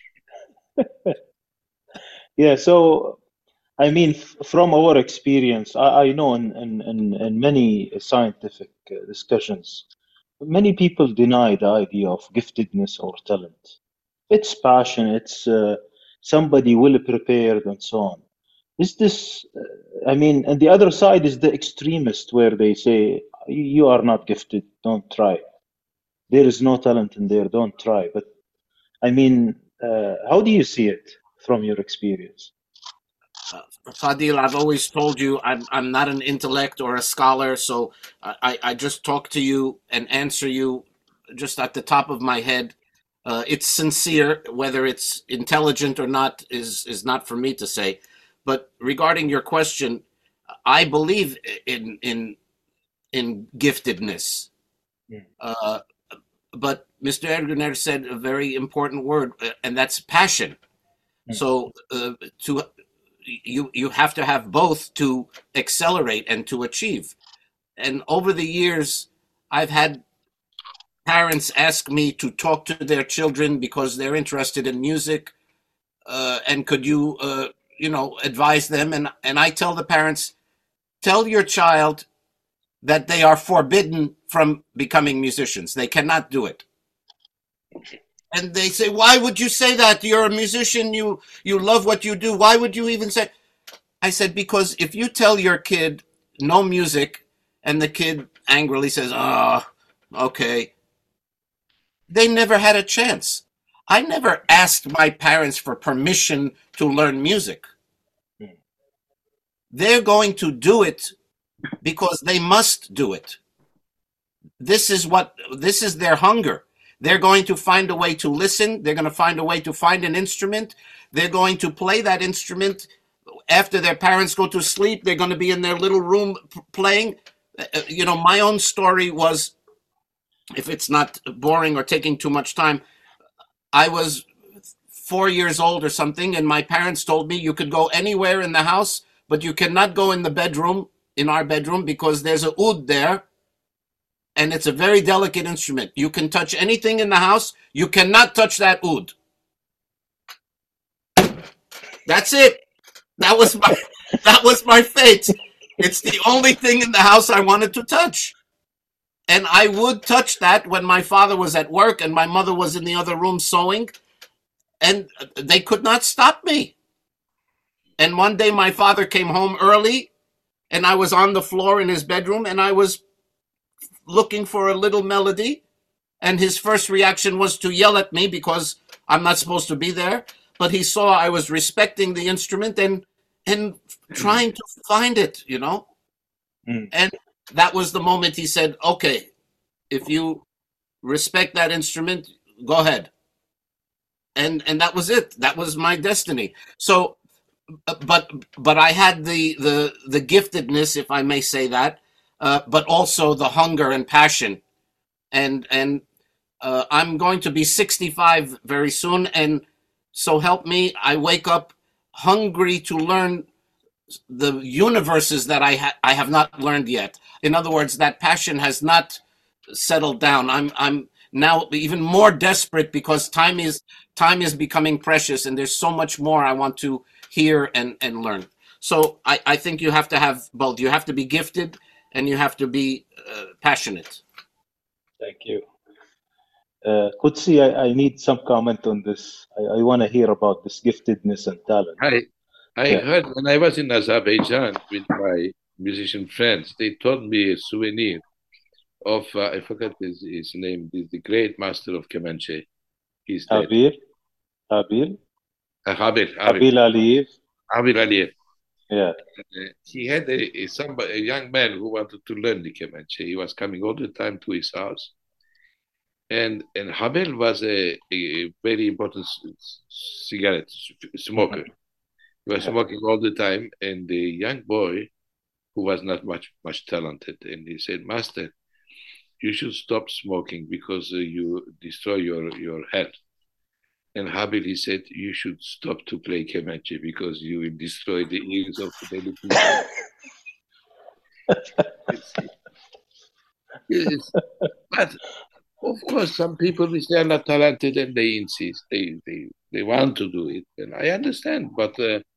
Yeah, so I mean, from our experience, I know in many scientific discussions, many people deny the idea of giftedness or talent. It's passion, it's somebody well prepared, and so on. Is this, I mean, and the other side is the extremist where they say, you are not gifted, don't try. There is no talent in there, don't try. But I mean, how do you see it from your experience? Fadil, I've always told you I'm not an intellect or a scholar, so I just talk to you and answer you just at the top of my head. It's sincere. Whether it's intelligent or not is not for me to say. But regarding your question, I believe in giftedness. But Mr. Erguner said a very important word, and that's passion. So you have to have both to accelerate and to achieve. And over the years, I've had parents ask me to talk to their children because they're interested in music, and could you advise them? And I tell the parents, tell your child that they are forbidden from becoming musicians. They cannot do it. And they say, why would you say that? You're a musician. You love what you do. Why would you even say? I said, because if you tell your kid no music and the kid angrily says, oh, okay, they never had a chance. I never asked my parents for permission to learn music. They're going to do it because they must do it. This is their hunger. They're going to find a way to listen. They're going to find a way to find an instrument. They're going to play that instrument. After their parents go to sleep, they're going to be in their little room playing. My own story was, if it's not boring or taking too much time, I was 4 years old or something, and my parents told me you could go anywhere in the house, but you cannot go in the bedroom, in our bedroom, because there's a oud there, and it's a very delicate instrument. You can touch anything in the house. You cannot touch that oud. That's it. That was my fate. It's the only thing in the house I wanted to touch. And I would touch that when my father was at work and my mother was in the other room sewing, and they could not stop me. And one day my father came home early, and I was on the floor in his bedroom, and I was looking for a little melody, and his first reaction was to yell at me because I'm not supposed to be there. But he saw I was respecting the instrument and trying to find it, And that was the moment he said, okay, if you respect that instrument, go ahead. And that was it. That was my destiny. So, but I had the giftedness, if I may say that, but also the hunger and passion. And I'm going to be 65 very soon, and so help me, I wake up hungry to learn the universes that I have not learned yet. In other words, that passion has not settled down. I'm now even more desperate because time is becoming precious, and there's so much more I want to hear and learn. So I think you have to have both. You have to be gifted and you have to be passionate. Thank you. Qudsi, I need some comment on this. I want to hear about this giftedness and talent. I heard when I was in Azerbaijan with my musician friends, they told me a souvenir. of I forgot his name, the great master of Comanche. He's dead. Habil Habil Aliyev. Aliyev. Yeah. He had a young man who wanted to learn the Comanche. He was coming all the time to his house. And Habil was a very important cigarette smoker. He was smoking all the time. And the young boy, who was not much talented, and he said, "Master, you should stop smoking because you destroy your health." And Habil, he said, "You should stop to play Comanche because you will destroy the ears of the many people." But of course, some people, if they are not talented and they insist, they want to do it, and I understand. But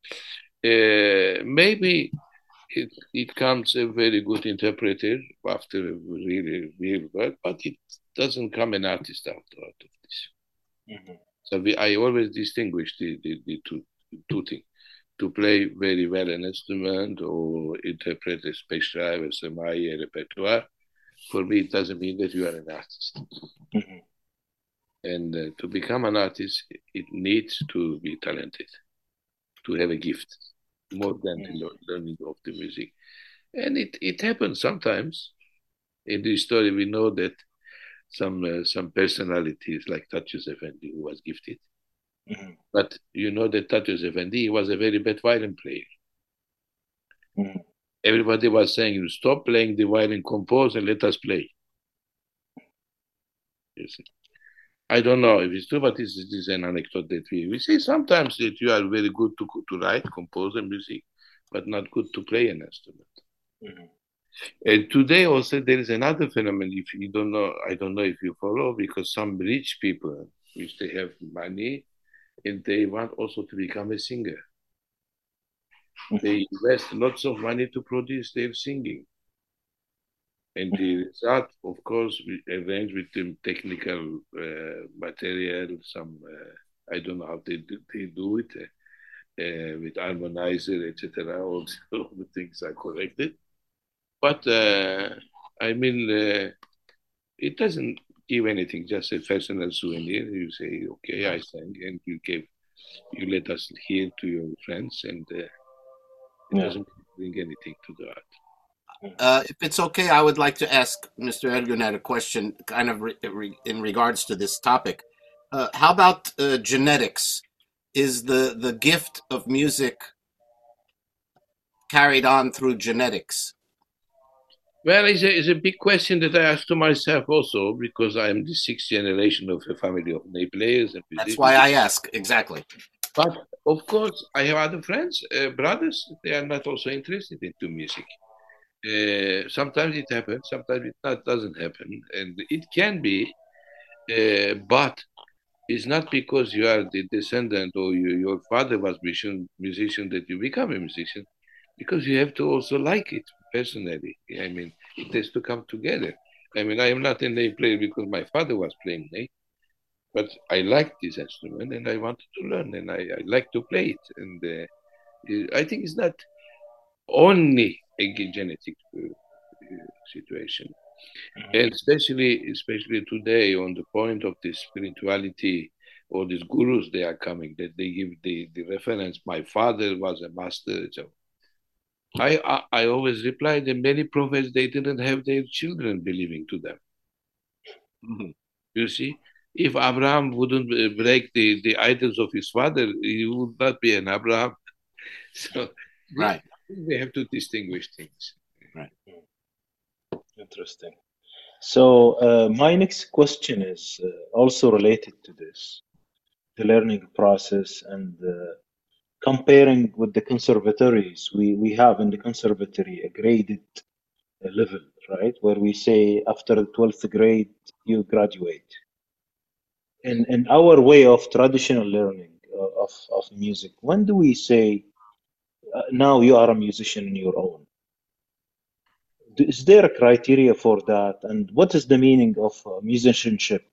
maybe it comes a very good interpreter after really real work, but it doesn't come an artist out of this. Mm-hmm. So I always distinguish the two things. To play very well an instrument or interpret a special or a repertoire, for me, it doesn't mean that you are an artist. Mm-hmm. And to become an artist, it needs to be talented, to have a gift, more than the learning of the music. And it happens sometimes. In the story, we know that some personalities like Tatyos Effendi, who was gifted. Mm-hmm. But you know that Tatyos Effendi was a very bad violin player. Mm-hmm. Everybody was saying, "You stop playing the violin, compose, and let us play." You see? I don't know if it's true, but this is an anecdote that we say sometimes that you are very good to write, compose, and music, but not good to play an instrument. Mm-hmm. And today also there is another phenomenon. If you don't know, I don't know if you follow, because some rich people, which they have money, and they want also to become a singer. Mm-hmm. They invest lots of money to produce their singing. And the result, of course, we arrange with them technical material, some, I don't know how they do it, with harmonizer, etc. All the things are corrected. But, I mean, it doesn't give anything, just a personal souvenir. You say, "Okay, I sang," and you let us hear to your friends, and it doesn't bring anything to the art. If it's okay, I would like to ask Mr. Erguner a question kind of in regards to this topic. How about genetics? Is the gift of music carried on through genetics? Well, it's a big question that I ask to myself also, because I am the sixth generation of a family of ney players. And that's why I ask, exactly. But of course, I have other friends, brothers, they are not also interested into music. Sometimes it happens, sometimes it doesn't happen. And it can be, but it's not because you are the descendant or your father was musician that you become a musician, because you have to also like it personally. I mean, it has to come together. I mean, I am not a ney player because my father was playing ney, but I liked this instrument and I wanted to learn, and I like to play it. And I think it's not only a genetic situation. And especially today, on the point of the spirituality, or these gurus they are coming, that they give the reference. My father was a master. So I always reply that many prophets, they didn't have their children believing to them. Mm-hmm. You see, if Abraham wouldn't break the idols of his father, he would not be an Abraham. So right, we have to distinguish things. Right. Interesting. So my next question is also related to this, the learning process, and comparing with the conservatories. We have in the conservatory a graded level, right? Where we say after the 12th grade, you graduate. In our way of traditional learning of music, when do we say, now you are a musician on your own? Is there a criteria for that? And what is the meaning of musicianship?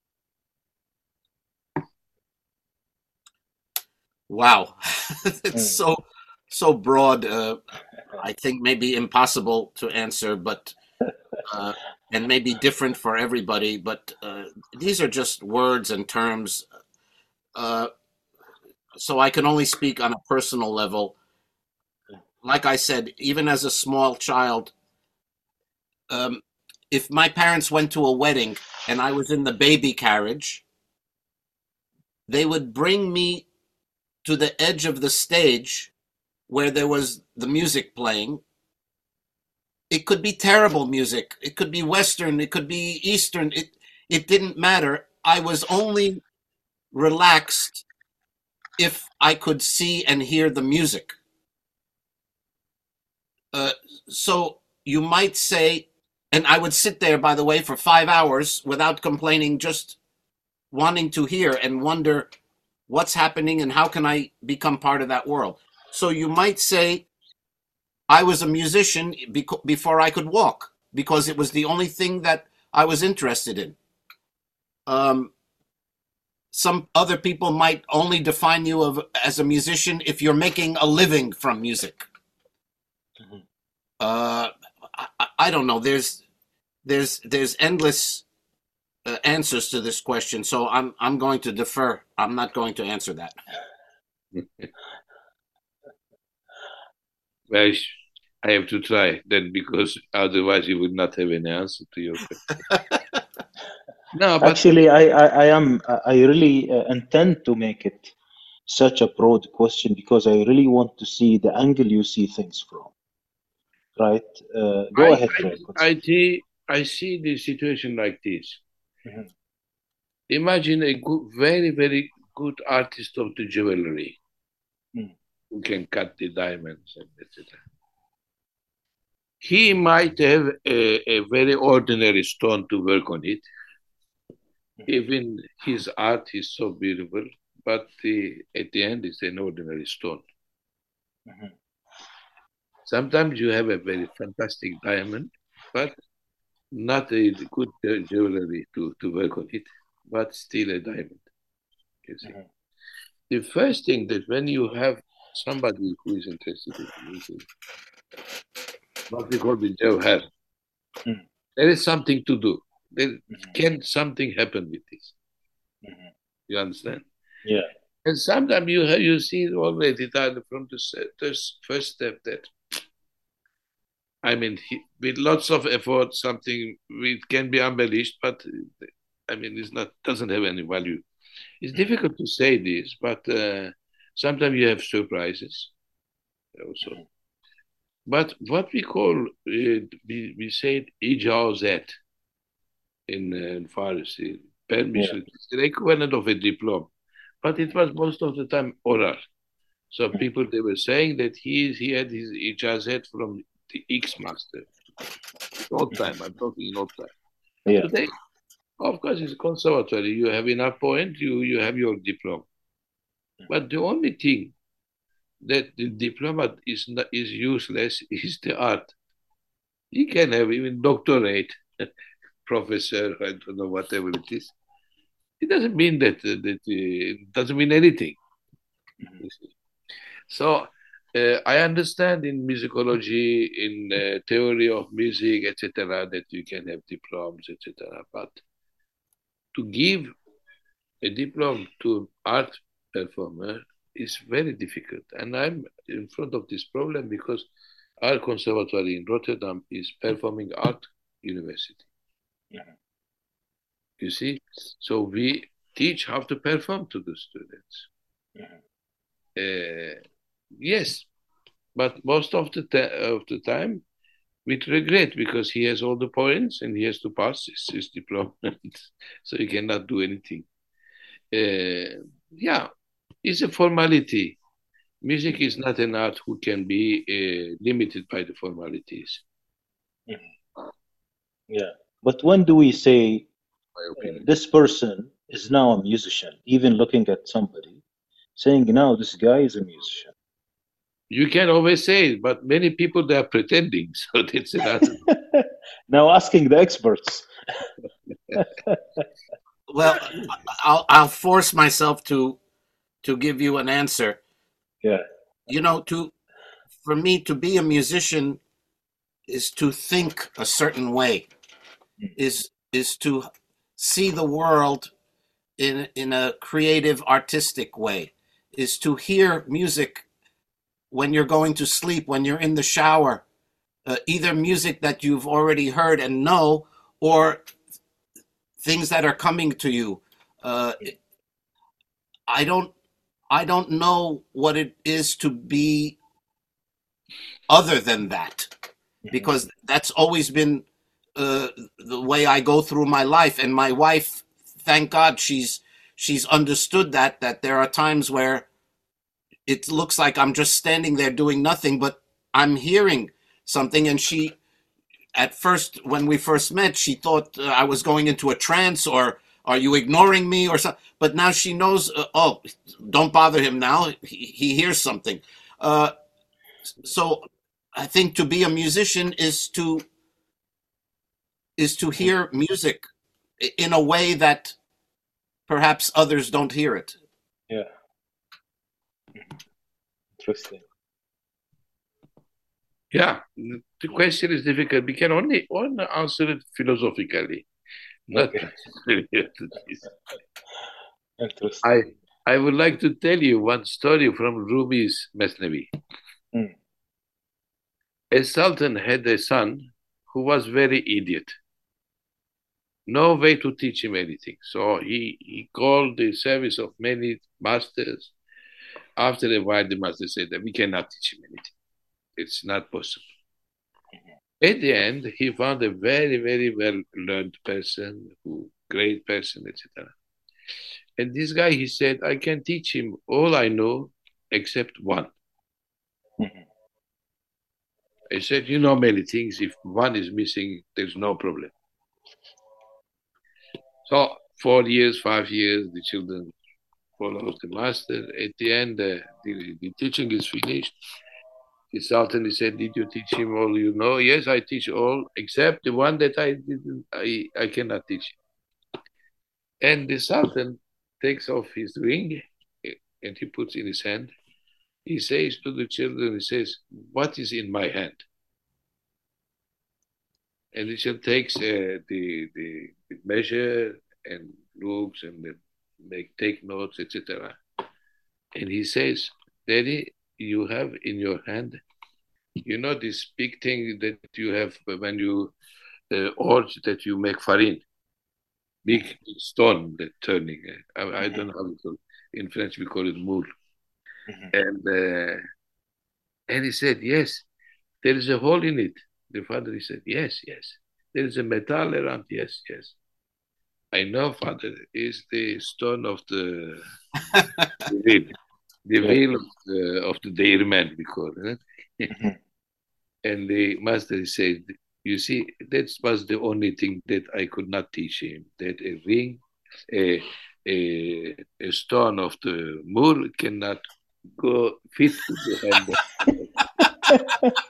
Wow, it's so broad. I think maybe impossible to answer, but and may be different for everybody, but these are just words and terms. Uh, so I can only speak on a personal level. Like I said, even as a small child, um, if my parents went to a wedding and I was in the baby carriage, they would bring me to the edge of the stage where there was the music playing. It could be terrible music. It could be Western. It could be Eastern. It didn't matter. I was only relaxed if I could see and hear the music. Uh, so you might say, and I would sit there, by the way, for 5 hours without complaining, just wanting to hear and wonder what's happening and how can I become part of that world. So you might say, I was a musician before I could walk because it was the only thing that I was interested in. Some other people might only define you as a musician if you're making a living from music. Mhm. I don't know. There's endless answers to this question, so I'm going to defer. I'm not going to answer that. Well, I have to try then because otherwise you would not have an answer to your question. No, but Actually, I really intend to make it such a broad question because I really want to see the angle you see things from. Right? Go I, ahead, I, Trey. I see the situation like this. Mhm. Imagine a good, very, very good artist of the jewelry Mm. who can cut the diamonds and etc. He might have a very ordinary stone to work on it. Even his art is so beautiful, but at the end it's an ordinary stone. Mhm. Sometimes you have a very fantastic diamond, but not a good jewelry to work on it, but still a diamond. You see, Mhm. the first thing that when you have somebody who is interested in music, what we call the jawhar, Mm. there is something to do. There Mhm. can something happen with this. Mhm. You understand? Yeah. And sometimes you see already that from the first step that I mean, with lots of effort, something it can be embellished, but I mean, it's not doesn't have any value. It's Mhm. difficult to say this, but sometimes you have surprises also. Mhm. But what we call we say ijazat in Farsi, Yeah. permission, it's the equivalent of a diploma, but it was most of the time oral. So Mhm. people they were saying that he had his ijazat from the X master. In old time, I'm talking in old time. Yeah. Today, of course, it's conservatory. You have enough point, you have your diploma. But the only thing that the diploma is not, is useless is the art. You can have even doctorate, professor, I don't know, whatever it is. It doesn't mean that it doesn't mean anything. Mhm. So I understand in musicology, in theory of music, etc., that you can have diplomas, etc. But to give a diploma to art performer is very difficult. And I'm in front of this problem because our conservatory in Rotterdam is performing art university. Mhm. You see? So we teach how to perform to the students. Mhm. Uh, yes, but most of of the time with regret because he has all the points and he has to pass his diploma. So he cannot do anything. Yeah, it's a formality. Music is not an art who can be limited by the formalities, Mhm. Yeah. But when do we say my opinion. this person is now a musician, even looking at somebody, saying now this guy is a musician? You can always say it, but many people they are pretending, so that's another. Now asking the experts. Well, I'll force myself to give you an answer. Yeah. You know, to for me to be a musician is to think a certain way. is to see the world in a creative, artistic way, is to hear music when you're going to sleep, when you're in the shower, either music that you've already heard and know, or things that are coming to you. Uh, I don't I don't know what it is to be other than that, because that's always been the way I go through my life. And my wife, thank God, she's understood that there are times where it looks like I'm just standing there doing nothing, but I'm hearing something. And she, at first, when we first met, she thought I was going into a trance, or are you ignoring me or something. But now she knows, oh, don't bother him now. He hears something. Uh, so I think to be a musician is to hear music in a way that perhaps others don't hear it. Yeah. Interesting. Yeah, the question is difficult. We can only answer it philosophically, not Okay. I Interesting. I would like to tell you one story from Rumi's Mesnevi. Mm. A sultan had a son who was very idiot. No way to teach him anything. So he called the service of many masters. After a while, the master said that we cannot teach him anything. It's not possible. At the end, he found a very, very well learned person, who great person, etc. And this guy, he said, I can teach him all I know except one. Mhm. I said, you know many things. If one is missing, there's no problem. So 4 years, 5 years, the children follow the master. At the end, the teaching is finished. The sultan, he said, did you teach him all you know? Yes, I teach all except the one that I didn't. I cannot teach him. And the sultan takes off his ring and he puts in his hand. He says to the children, he says, what is in my hand? And the child takes the measure and looks and take notes, etc. And he says, Daddy, you have in your hand, you know this big thing that you have when you orge that you make farine, big stone that turning. I don't know how we call it. In French we call it moule. Mhm. And he said, yes, there is a hole in it. The father, he said, yes, yes. There is a metal around. Yes, yes. I know, father, is the stone of the wheel, the Yeah. wheel of the dairyman, we call it. Mhm. And the master said, you see, that was the only thing that I could not teach him, that a ring, a, a stone of the moor cannot go fit to the hand.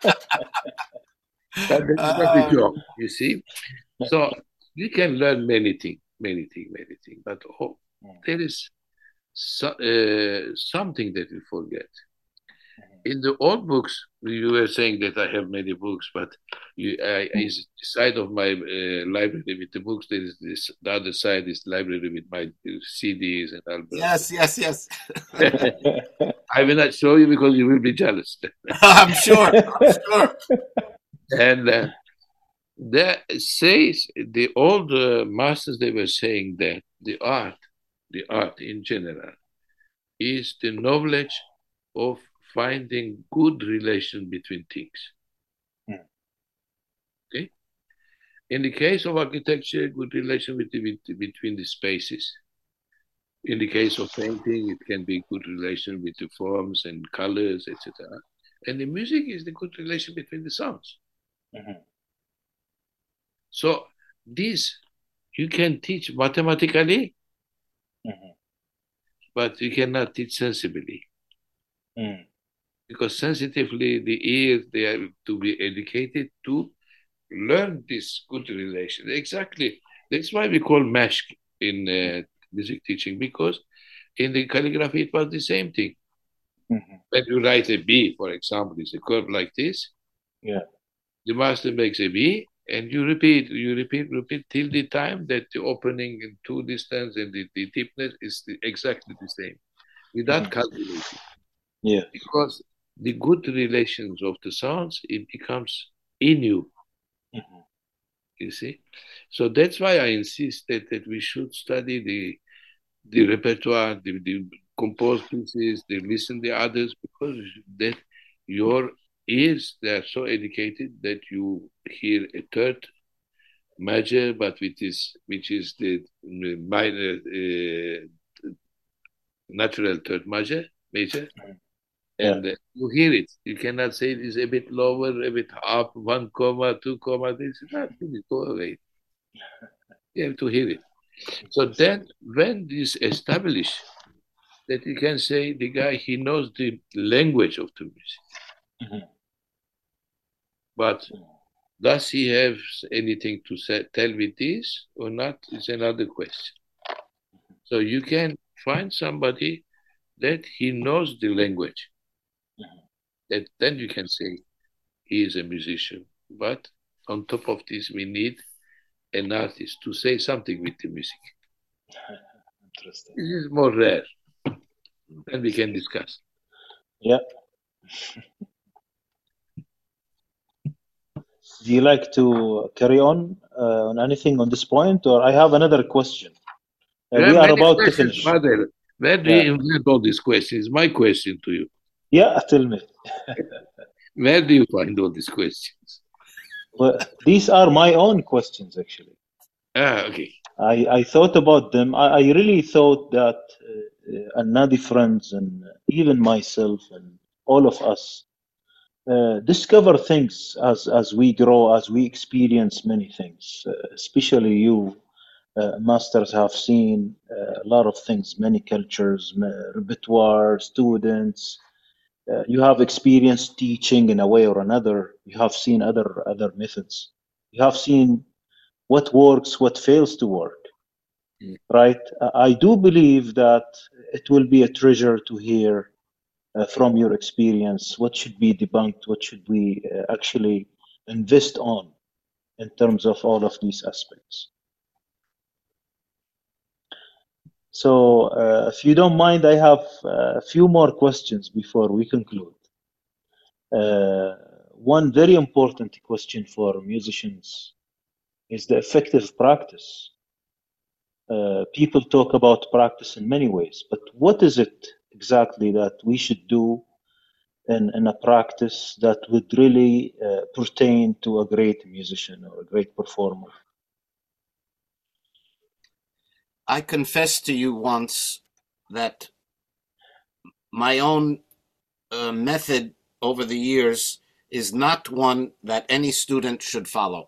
But that is not a Uh, job, you see. So you can learn many things, many things, many things. But there is something that we forget. In the old books, you were saying that I have many books, but is the side of my library with the books. There is this. The other side is library with my CDs and albums. yes, yes, yes. I will not show you because you will be jealous. I'm sure. I'm sure. And that says the old masters, they were saying that the art in general, is the knowledge of finding good relation between things. Mm. Okay. In the case of architecture, good relation between the spaces. In the case of painting, it can be good relation with the forms and colors, etc. And the music is the good relation between the sounds. Mhm. So this you can teach mathematically, Mhm. but you cannot teach sensibly. Mm. Because sensitively, the ears, they are to be educated to learn this good relation. Exactly. That's why we call mashq in music teaching, because in the calligraphy, it was the same thing. Mhm. When you write a B, for example, it's a curve like this. Yeah. The master makes a B, And you repeat till the time that the opening and two distance and the deepness is exactly the same, without calculating. Yeah. Because the good relations of the sounds, it becomes in you. You see? So that's why I insist that we should study the repertoire, the composed pieces, the listen the others, because that your ears, they are so educated that you hear a third major, but which is the minor, natural third major, and you hear it. You cannot say it is a bit lower, a bit up, 1 comma, 2 comma. This is not really go away. You have to hear it. So then, when this established, that you can say the guy, he knows the language of the music, but does he have anything to tell with this or not is another question. So you can find somebody that he knows the language, that then you can say he is a musician. But on top of this, we need an artist to say something with the music. Interesting. This is more rare. Then we can discuss. Yeah. Do you like to carry on anything on this point, or I have another question? There We are are many about to questions, finish. Mother. Where do you invent all these questions? My question to you. Yeah, tell me. Where do you find all these questions? Well, these are my own questions, actually. Okay. I thought about them. I really thought that Nadi friends and even myself and all of us discover things as we grow, as we experience many things. Especially you, masters, have seen a lot of things, many cultures, repertoire, students. You have experienced teaching in a way or another. You have seen other methods. You have seen what works, what fails to work. Right? I do believe that it will be a treasure to hear from your experience what should be debunked, what should we actually invest on in terms of all of these aspects. So, if you don't mind, I have a few more questions before we conclude. One very important question for musicians is the effective practice. People talk about practice in many ways, but what is it exactly that we should do in a practice that would really pertain to a great musician or a great performer? I confessed to you once that my own method over the years is not one that any student should follow.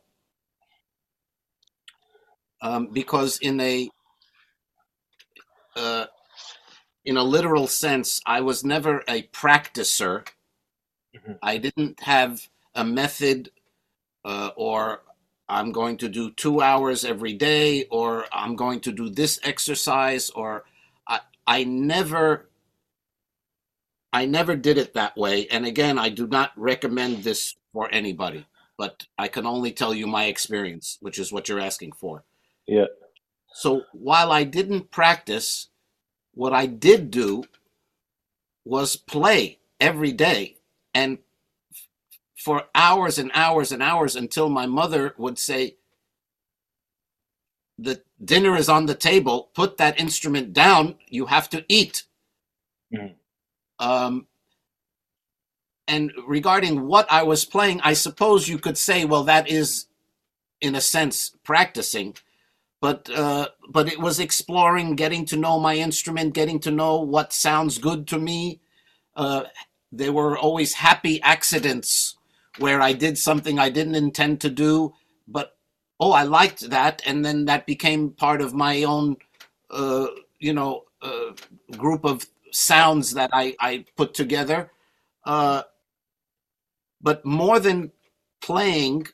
Because in a literal sense, I was never a practicer. I didn't have a method, or I'm going to do 2 hours every day, or I'm going to do this exercise, or I never did it that way. And again, I do not recommend this for anybody, but I can only tell you my experience, which is what you're asking for. Yeah. So while I didn't practice, what I did do was play every day, and for hours and hours and hours, until my mother would say, the dinner is on the table, put that instrument down, you have to eat. And regarding what I was playing, I suppose you could say, well, that is, in a sense, practicing. But it was exploring, getting to know my instrument, getting to know what sounds good to me. There were always happy accidents where I did something I didn't intend to do, but I liked that, and then that became part of my own, group of sounds that I put together. But more than playing,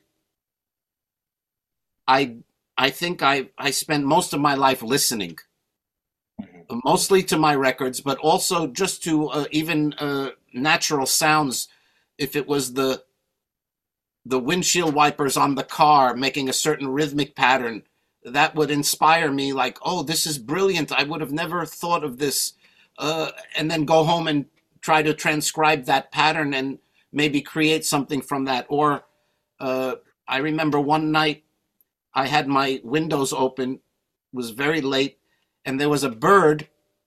I think I spent most of my life listening, mostly to my records, but also just to even natural sounds. If it was the the windshield wipers on the car making a certain rhythmic pattern that would inspire me, like, oh, this is brilliant, I would have never thought of this, and then go home and try to transcribe that pattern and maybe create something from that. Or I remember one night I had my windows open, it was very late, and there was a bird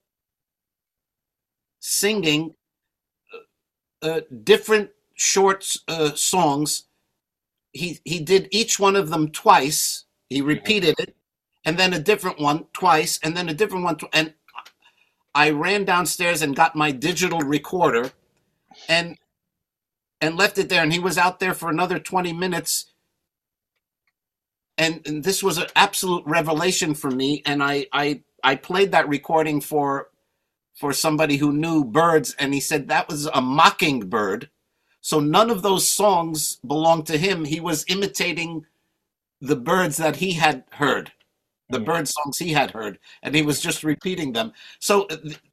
singing different short songs. He did each one of them twice. He repeated it, and then a different one twice, and then a different one. And I ran downstairs and got my digital recorder, and left it there. And he was out there for another 20 minutes. And this was an absolute revelation for me. And I played that recording for somebody who knew birds, and he said that was a mockingbird. So none of those songs belonged to him. He was imitating the birds that he had heard, the bird songs he had heard, and he was just repeating them. So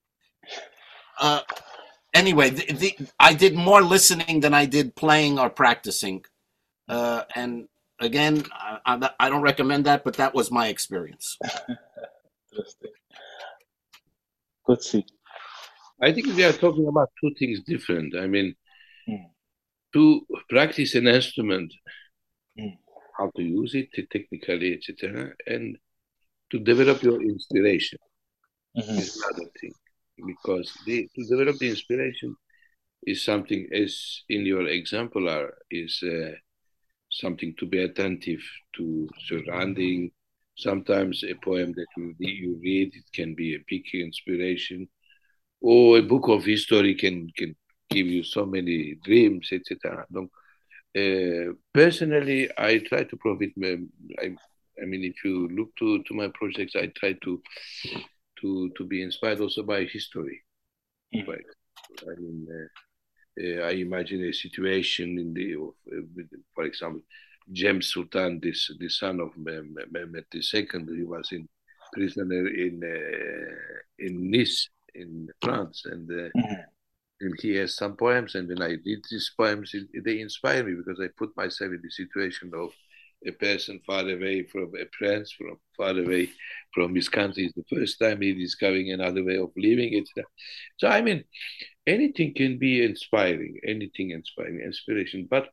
anyway, I did more listening than I did playing or practicing. And again, I don't recommend that, but that was my experience. Interesting. Good. See. I think we are talking about two things different. I mean, to practice an instrument, how to use it technically, etc., and to develop your inspiration is another thing. Because to develop the inspiration is something, as in your exemplar, is something to be attentive to surrounding. Sometimes a poem that you read, it can be a big inspiration, or a book of history can give you so many dreams, etc. Personally, I try to profit. I mean, if you look to my projects, I try to be inspired also by history. Right? I mean, I imagine a situation for example, James Sultan, the son of Mehmed II, he was in prisoner in Nice in France, and he has some poems. And when I read these poems, they inspire me, because I put myself in the situation of a person far away from a prince, from far away from his country. It's the first time he's discovering another way of living it. So I mean, anything can be inspiring, inspiration. But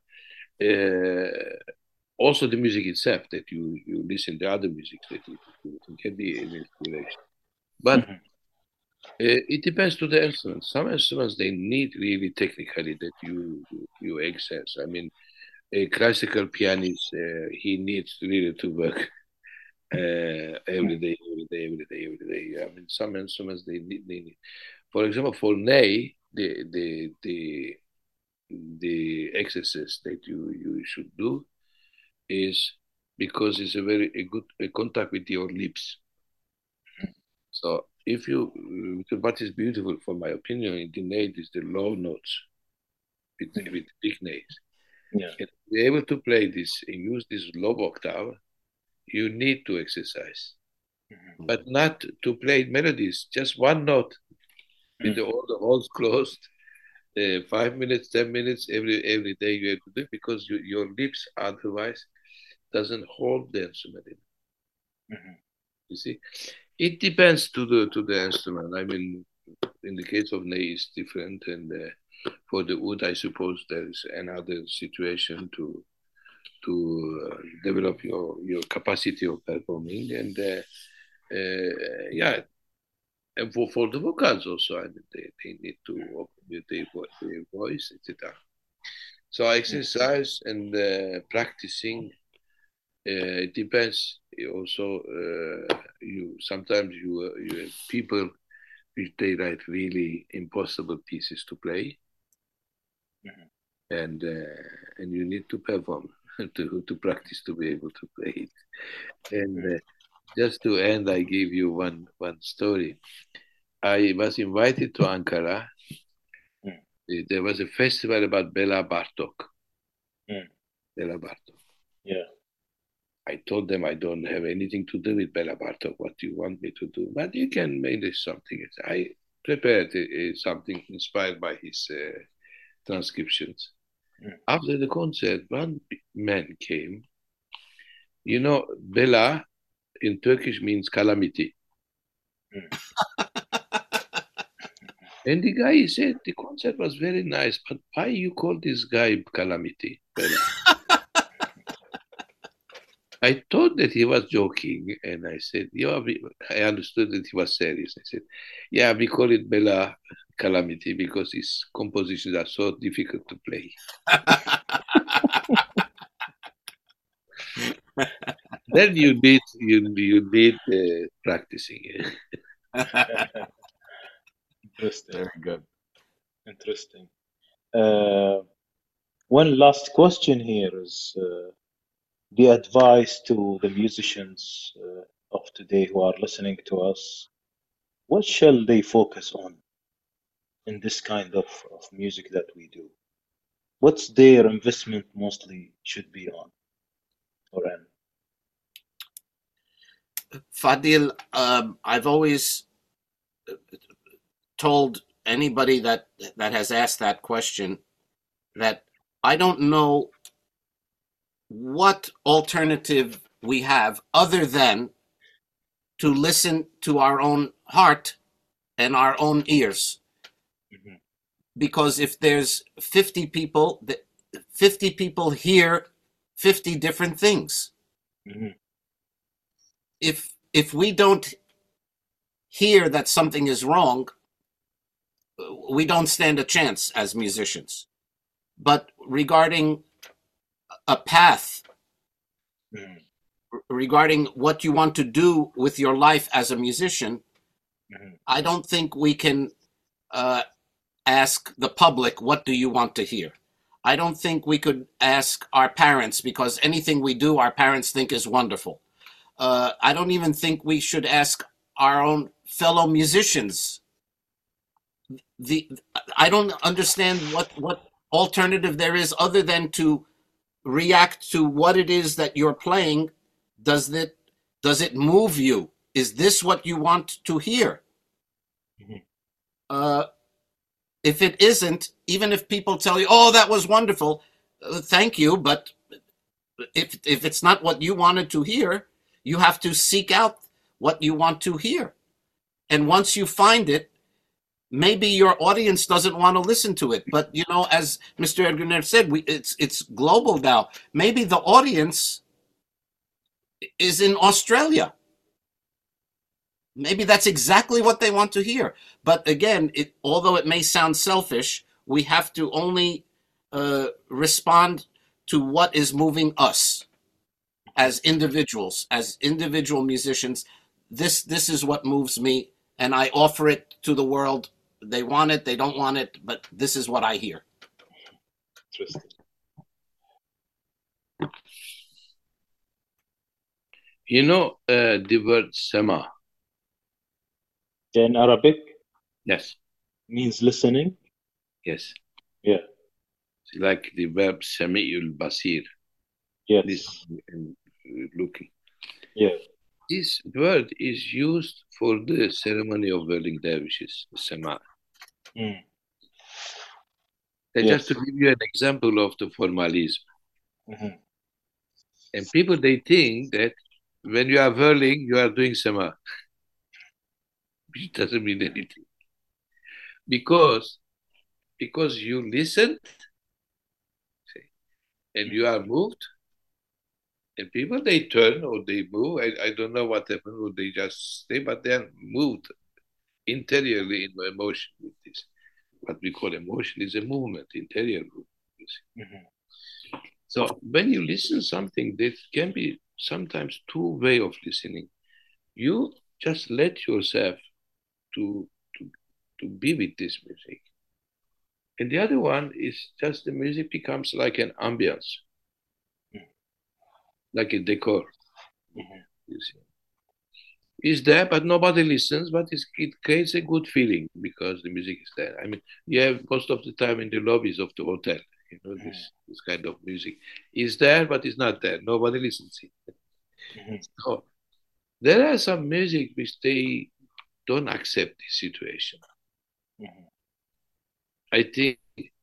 also the music itself, that you listen to other music, that it can be an inspiration. But it depends to the instruments. Some instruments, they need really technically that you access. I mean, a classical pianist, he needs really to work every day. I mean, some instruments they need. For example, for Ney, the exercise that you should do is, because it's a good contact with your lips. So if what is beautiful, for my opinion, in the Ney is the low notes with big Neys. Yeah. And to be able to play this and use this low octave, you need to exercise, but not to play melodies, just one note with all the holes closed. 5 minutes, 10 minutes every day you have to do it, because your lips otherwise doesn't hold the instrument. You see, it depends to the instrument. I mean, in the case of Ney, it's different, and for the oud, I suppose there is another situation to develop your capacity of performing, and yeah, and for the vocals also, I mean, they need to open their voice, etc. So exercise and practicing. It depends. Also, sometimes you have people which they write really impossible pieces to play, and you need to perform to practice to be able to play it. And just to end, I give you one story. I was invited to Ankara. There was a festival about Bela Bartok. Bela Bartok. Yeah. I told them I don't have anything to do with Bela Bartok. What do you want me to do? But you can manage something. I prepared something inspired by his transcriptions. After the concert, one man came. You know, Bela in Turkish means calamity. And the guy said the concert was very nice, but why you call this guy calamity, Bela? I thought that he was joking, and I said, "Yeah." I understood that he was serious. I said, "Yeah, we call it Bela calamity because his compositions are so difficult to play." Then you need practicing. Interesting. Very good. Interesting. One last question here is the advice to the musicians of today who are listening to us. What shall they focus on in this kind of music that we do? What's their investment mostly should be on or in? Fadil, I've always told anybody that has asked that question that I don't know what alternative we have other than to listen to our own heart and our own ears. Mhm. Because if there's 50 people, 50 people hear 50 different things. Mhm. If we don't hear that something is wrong, we don't stand a chance as musicians. But regarding a path, Mhm. regarding what you want to do with your life as a musician, Mhm. I don't think we can ask the public, what do you want to hear? I don't think we could ask our parents, because anything we do, our parents think is wonderful. I don't even think we should ask our own fellow musicians. I don't understand what alternative there is other than to react to what it is that you're playing. Does it move you? Is this what you want to hear? Mhm. Uh, if it isn't, even if people tell you, "Oh, that was wonderful," thank you, but if it's not what you wanted to hear, you have to seek out what you want to hear. And once you find it, maybe your audience doesn't want to listen to it. But as Mr. Edgar said, it's global now. Maybe the audience is in Australia. Maybe that's exactly what they want to hear. But again, although it may sound selfish, we have to only respond to what is moving us as individuals, as individual musicians. This is what moves me, and I offer it to the world. They want it, they don't want it, but this is what I hear. Interesting. You know the word sema? In Arabic Yes, means listening. yes. Yeah. It's like the verb sami'ul basir, Yes. listening and looking. Yeah. This word is used for the ceremony of whirling dervishes, sema. Mm. Just Yes. to give you an example of the formalism. Mhm. And people, they think that when you are whirling, you are doing sema, which doesn't mean anything. Because you listen and you are moved, and people, they turn or they move. I don't know what happened, or they just stay, but they are moved interiorly in emotion with this. What we call emotion is a movement, interior movement. Mhm. So when you listen something, there can be sometimes two way of listening. You just let yourself to to to be with this music, and the other one is just the music becomes like an ambience, Mhm. like a decor. Mhm. You see, it's there, but nobody listens. But it creates a good feeling because the music is there. I mean, you have most of the time in the lobbies of the hotel. Mhm. This kind of music is there, but it's not there. Nobody listens it. Mhm. So there are some music which they don't accept the situation. Mhm. I think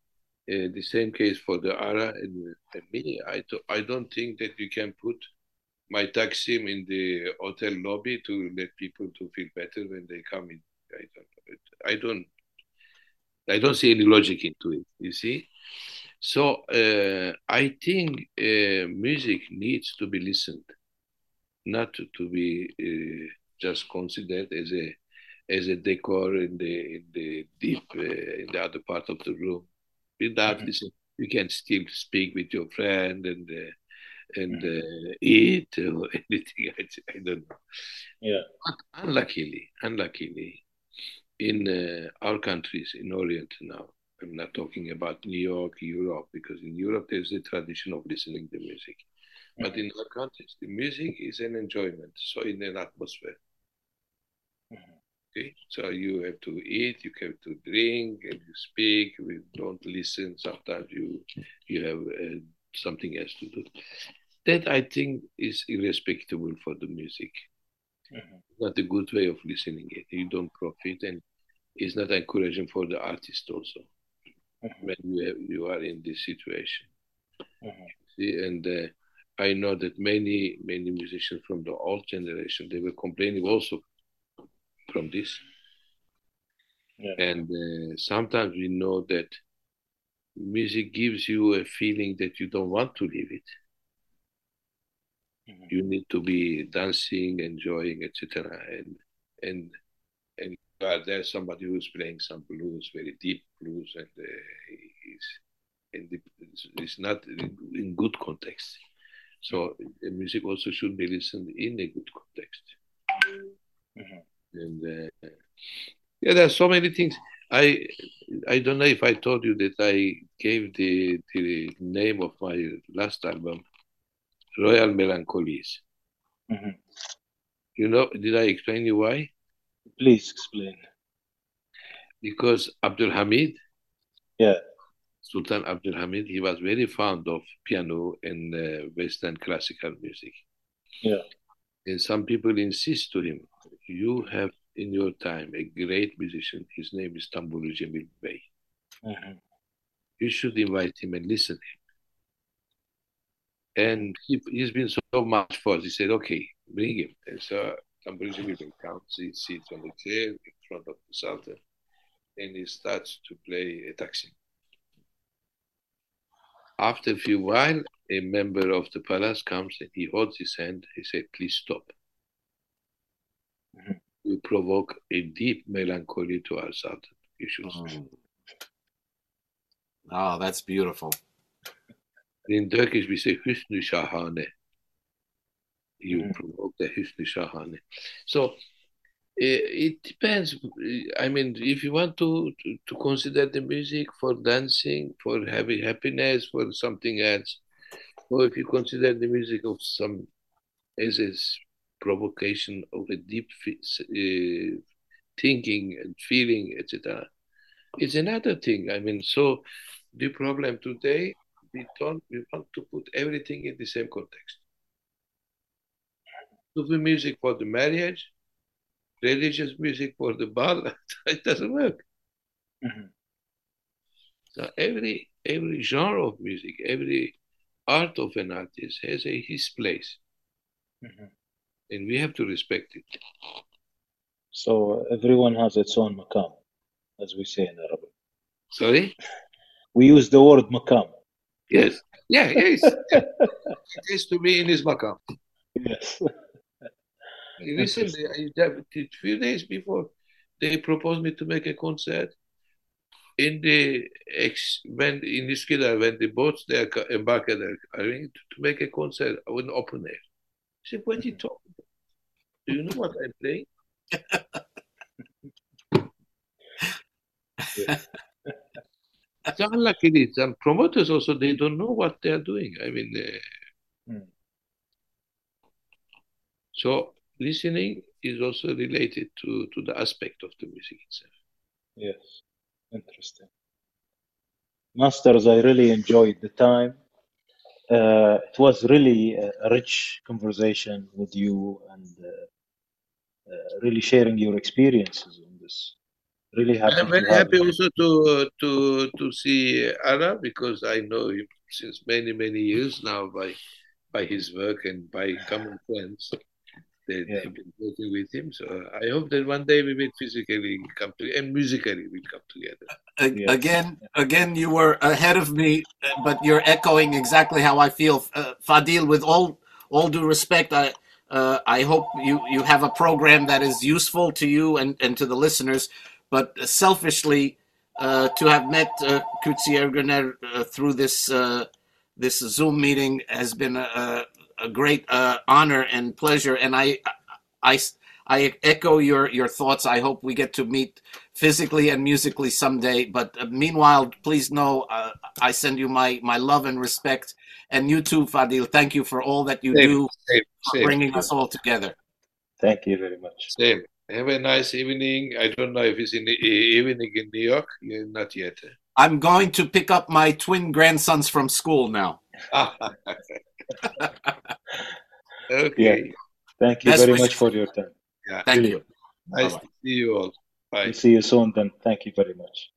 The same case for the Ara and me. I don't think that you can put my Taksim in the hotel lobby to let people to feel better when they come in. I don't, I don't see any logic into it. You see, so I think music needs to be listened, not to be just considered as a decor in the deep in the other part of the room. Without listening, you can still speak with your friend and eat or anything. I don't know. Yeah. But unluckily, in our countries in Orient now, I'm not talking about New York, Europe, because in Europe there's a tradition of listening to music. But in our countries, the music is an enjoyment, so in an atmosphere. Okay, so you have to eat, you have to drink, and you speak. We don't listen. Sometimes you have something else to do. That I think is irrespectable for the music. Not a good way of listening it. You don't profit, and it's not encouraging for the artist also when you are in this situation. See, and I know that many musicians from the old generation they were complaining also from this. Yeah. And sometimes we know that music gives you a feeling that you don't want to leave it. You need to be dancing, enjoying, etc. And there's somebody who's playing some blues, very deep blues, and it's not in good context. So the music also should be listened in a good context. And yeah, there are so many things. I don't know if I told you that I gave the name of my last album, Royal Melancholies. You know, did I explain you why? Please explain. Because Abdul Hamid, Yeah. Sultan Abdul Hamid, he was very fond of piano and Western classical music. Yeah. And some people insist to him, you have in your time a great musician. His name is Tamburi Cemil Bey. You should invite him and listen to him. And he's been so much for us. He said, okay, bring him. And so Tamburi Cemil Bey comes, he sits on the chair in front of the Sultan, and he starts to play a taksim. After a few while, a member of the palace comes and he holds his hand. He said, please stop. You provoke a deep melancholy to our Sultan. You should stop. Oh, that's beautiful. In Turkish, we say Hüsnü Şahane. You provoke the Hüsnü Şahane. So it depends. I mean, if you want to consider the music for dancing, for having happiness, for something else, or if you consider the music of some as a provocation of a deep thinking and feeling, etc., it's another thing. I mean, so the problem today, we want to put everything in the same context. Sufi music for the marriage, religious music for the ball, it doesn't work. So every genre of music, every art of an artist has his place, and we have to respect it. So everyone has its own maqam, as we say in Arabic. Sorry? We use the word maqam. Yes. Yeah, yes. It has to be in his maqam. Yes. Recently, a few days before, they proposed me to make a concert in when in Üsküdar, when the boats they are embarked are to make a concert in open air. I said, what are you talking about? Do you know what I'm playing? So unluckily, some promoters also they don't know what they are doing. I mean, so listening is also related to the aspect of the music itself. Yes, interesting. Masters, I really enjoyed the time. It was really a rich conversation with you and really sharing your experiences on this. Really happy I'm very to have happy him. also to see Ara because I know him since many years now by his work and by common friends. Yeah, They've been working with him. So I hope that one day we will physically come together and musically we come together. yes. Again, you were ahead of me, but you're echoing exactly how I feel, Fadil. With all due respect, I hope you have a program that is useful to you and to the listeners. But selfishly, to have met Kutsi Ergener through this Zoom meeting has been a great honor and pleasure. And I I echo your thoughts. I hope we get to meet physically and musically someday. But meanwhile, please know I send you my love and respect. And you too, Fadil. Thank you for all that you Same, do, same, for same, bringing us all together. Thank you very much. same. Have a nice evening. I don't know if it's in the evening in New York. Yeah, not yet. I'm going to pick up my twin grandsons from school now. Yeah, Okay. thank you Best very wishes. much for your time. Yeah. Thank Really, you. Nice Bye-bye. to see you all. Bye. we'll see you soon then. Thank you very much.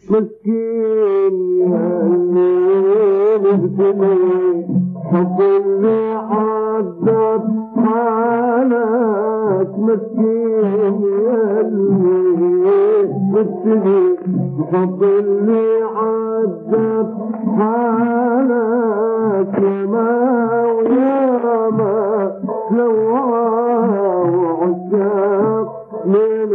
مسكين ياللي مبتلي حب اللي عذب حالك مسكين ياللي مبتلي حب اللي عذب حالك ياما وياما سوا وعشاق من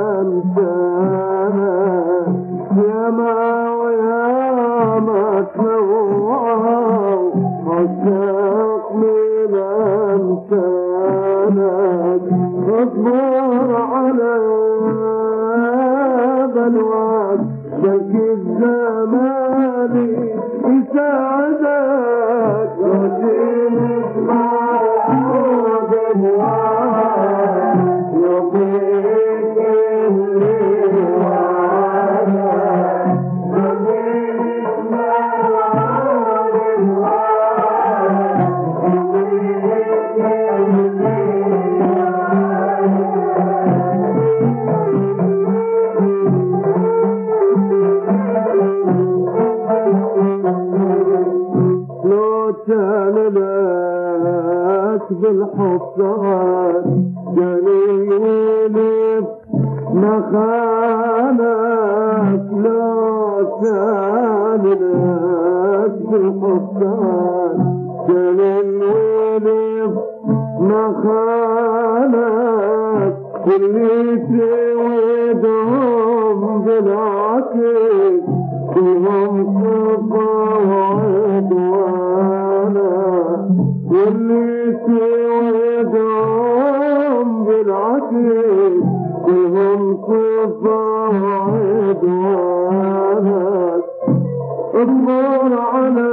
أمثالك ياما وياما سوا وعشاق من أمثالك اصبر على بلواك بلكي الزمان يساعدك وجينك مع بلواك يضيك اللي وعدك وجينك مع بلواك يضيك اللي كان لك بالحصان جليل ما خانك لا كان لك بالحصان جليل ما خانك اللي توعدهم بالعكس كلهم صفا وعدوانا واللي توعدهم بالعكس كلهم صفا وعدوانا اصبر على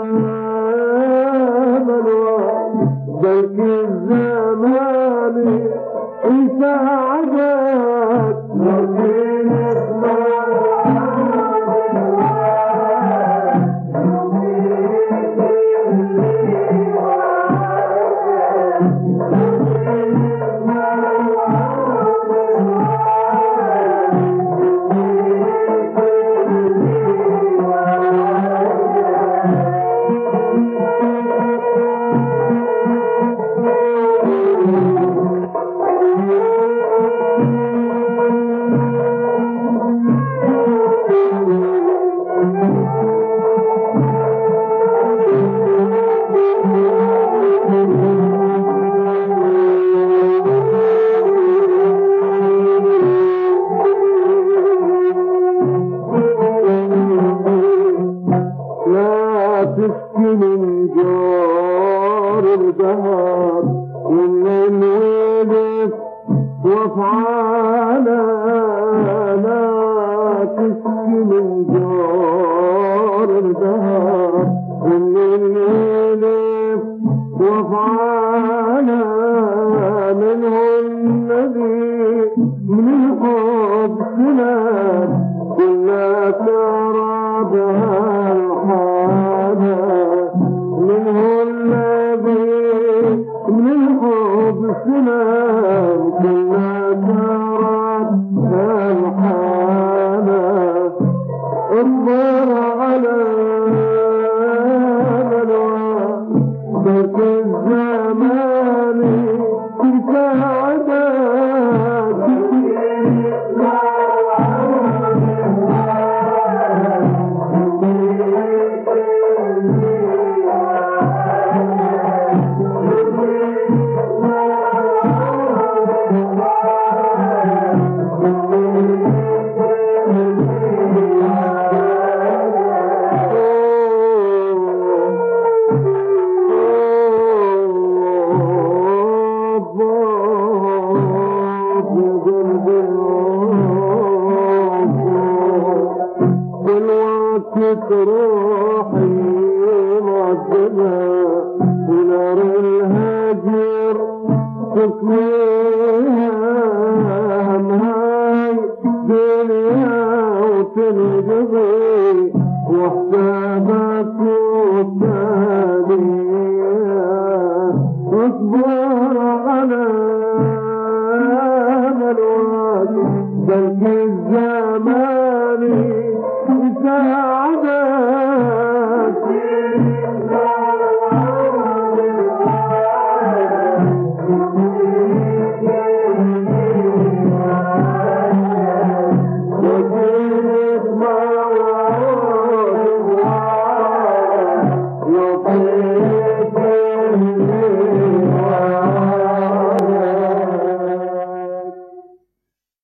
بلواك بلكي الزمان يساعدك وجينك من جار الدهر ومن ولد وافعالا لا تشكي من جار الدهر ومن ولد وافعالا منه الذي من الحب سلام كنا ترى بها الحالة منه الذي من الحب سلام كنا ترى بها الحالة اصبر على بلواك بك الزمان تساعدك روحي معذبة ونار الهجر تسويها همهاي دنيا وتنقضي وحسابك والتالية واصبر على بلواك بلكي الزمان العين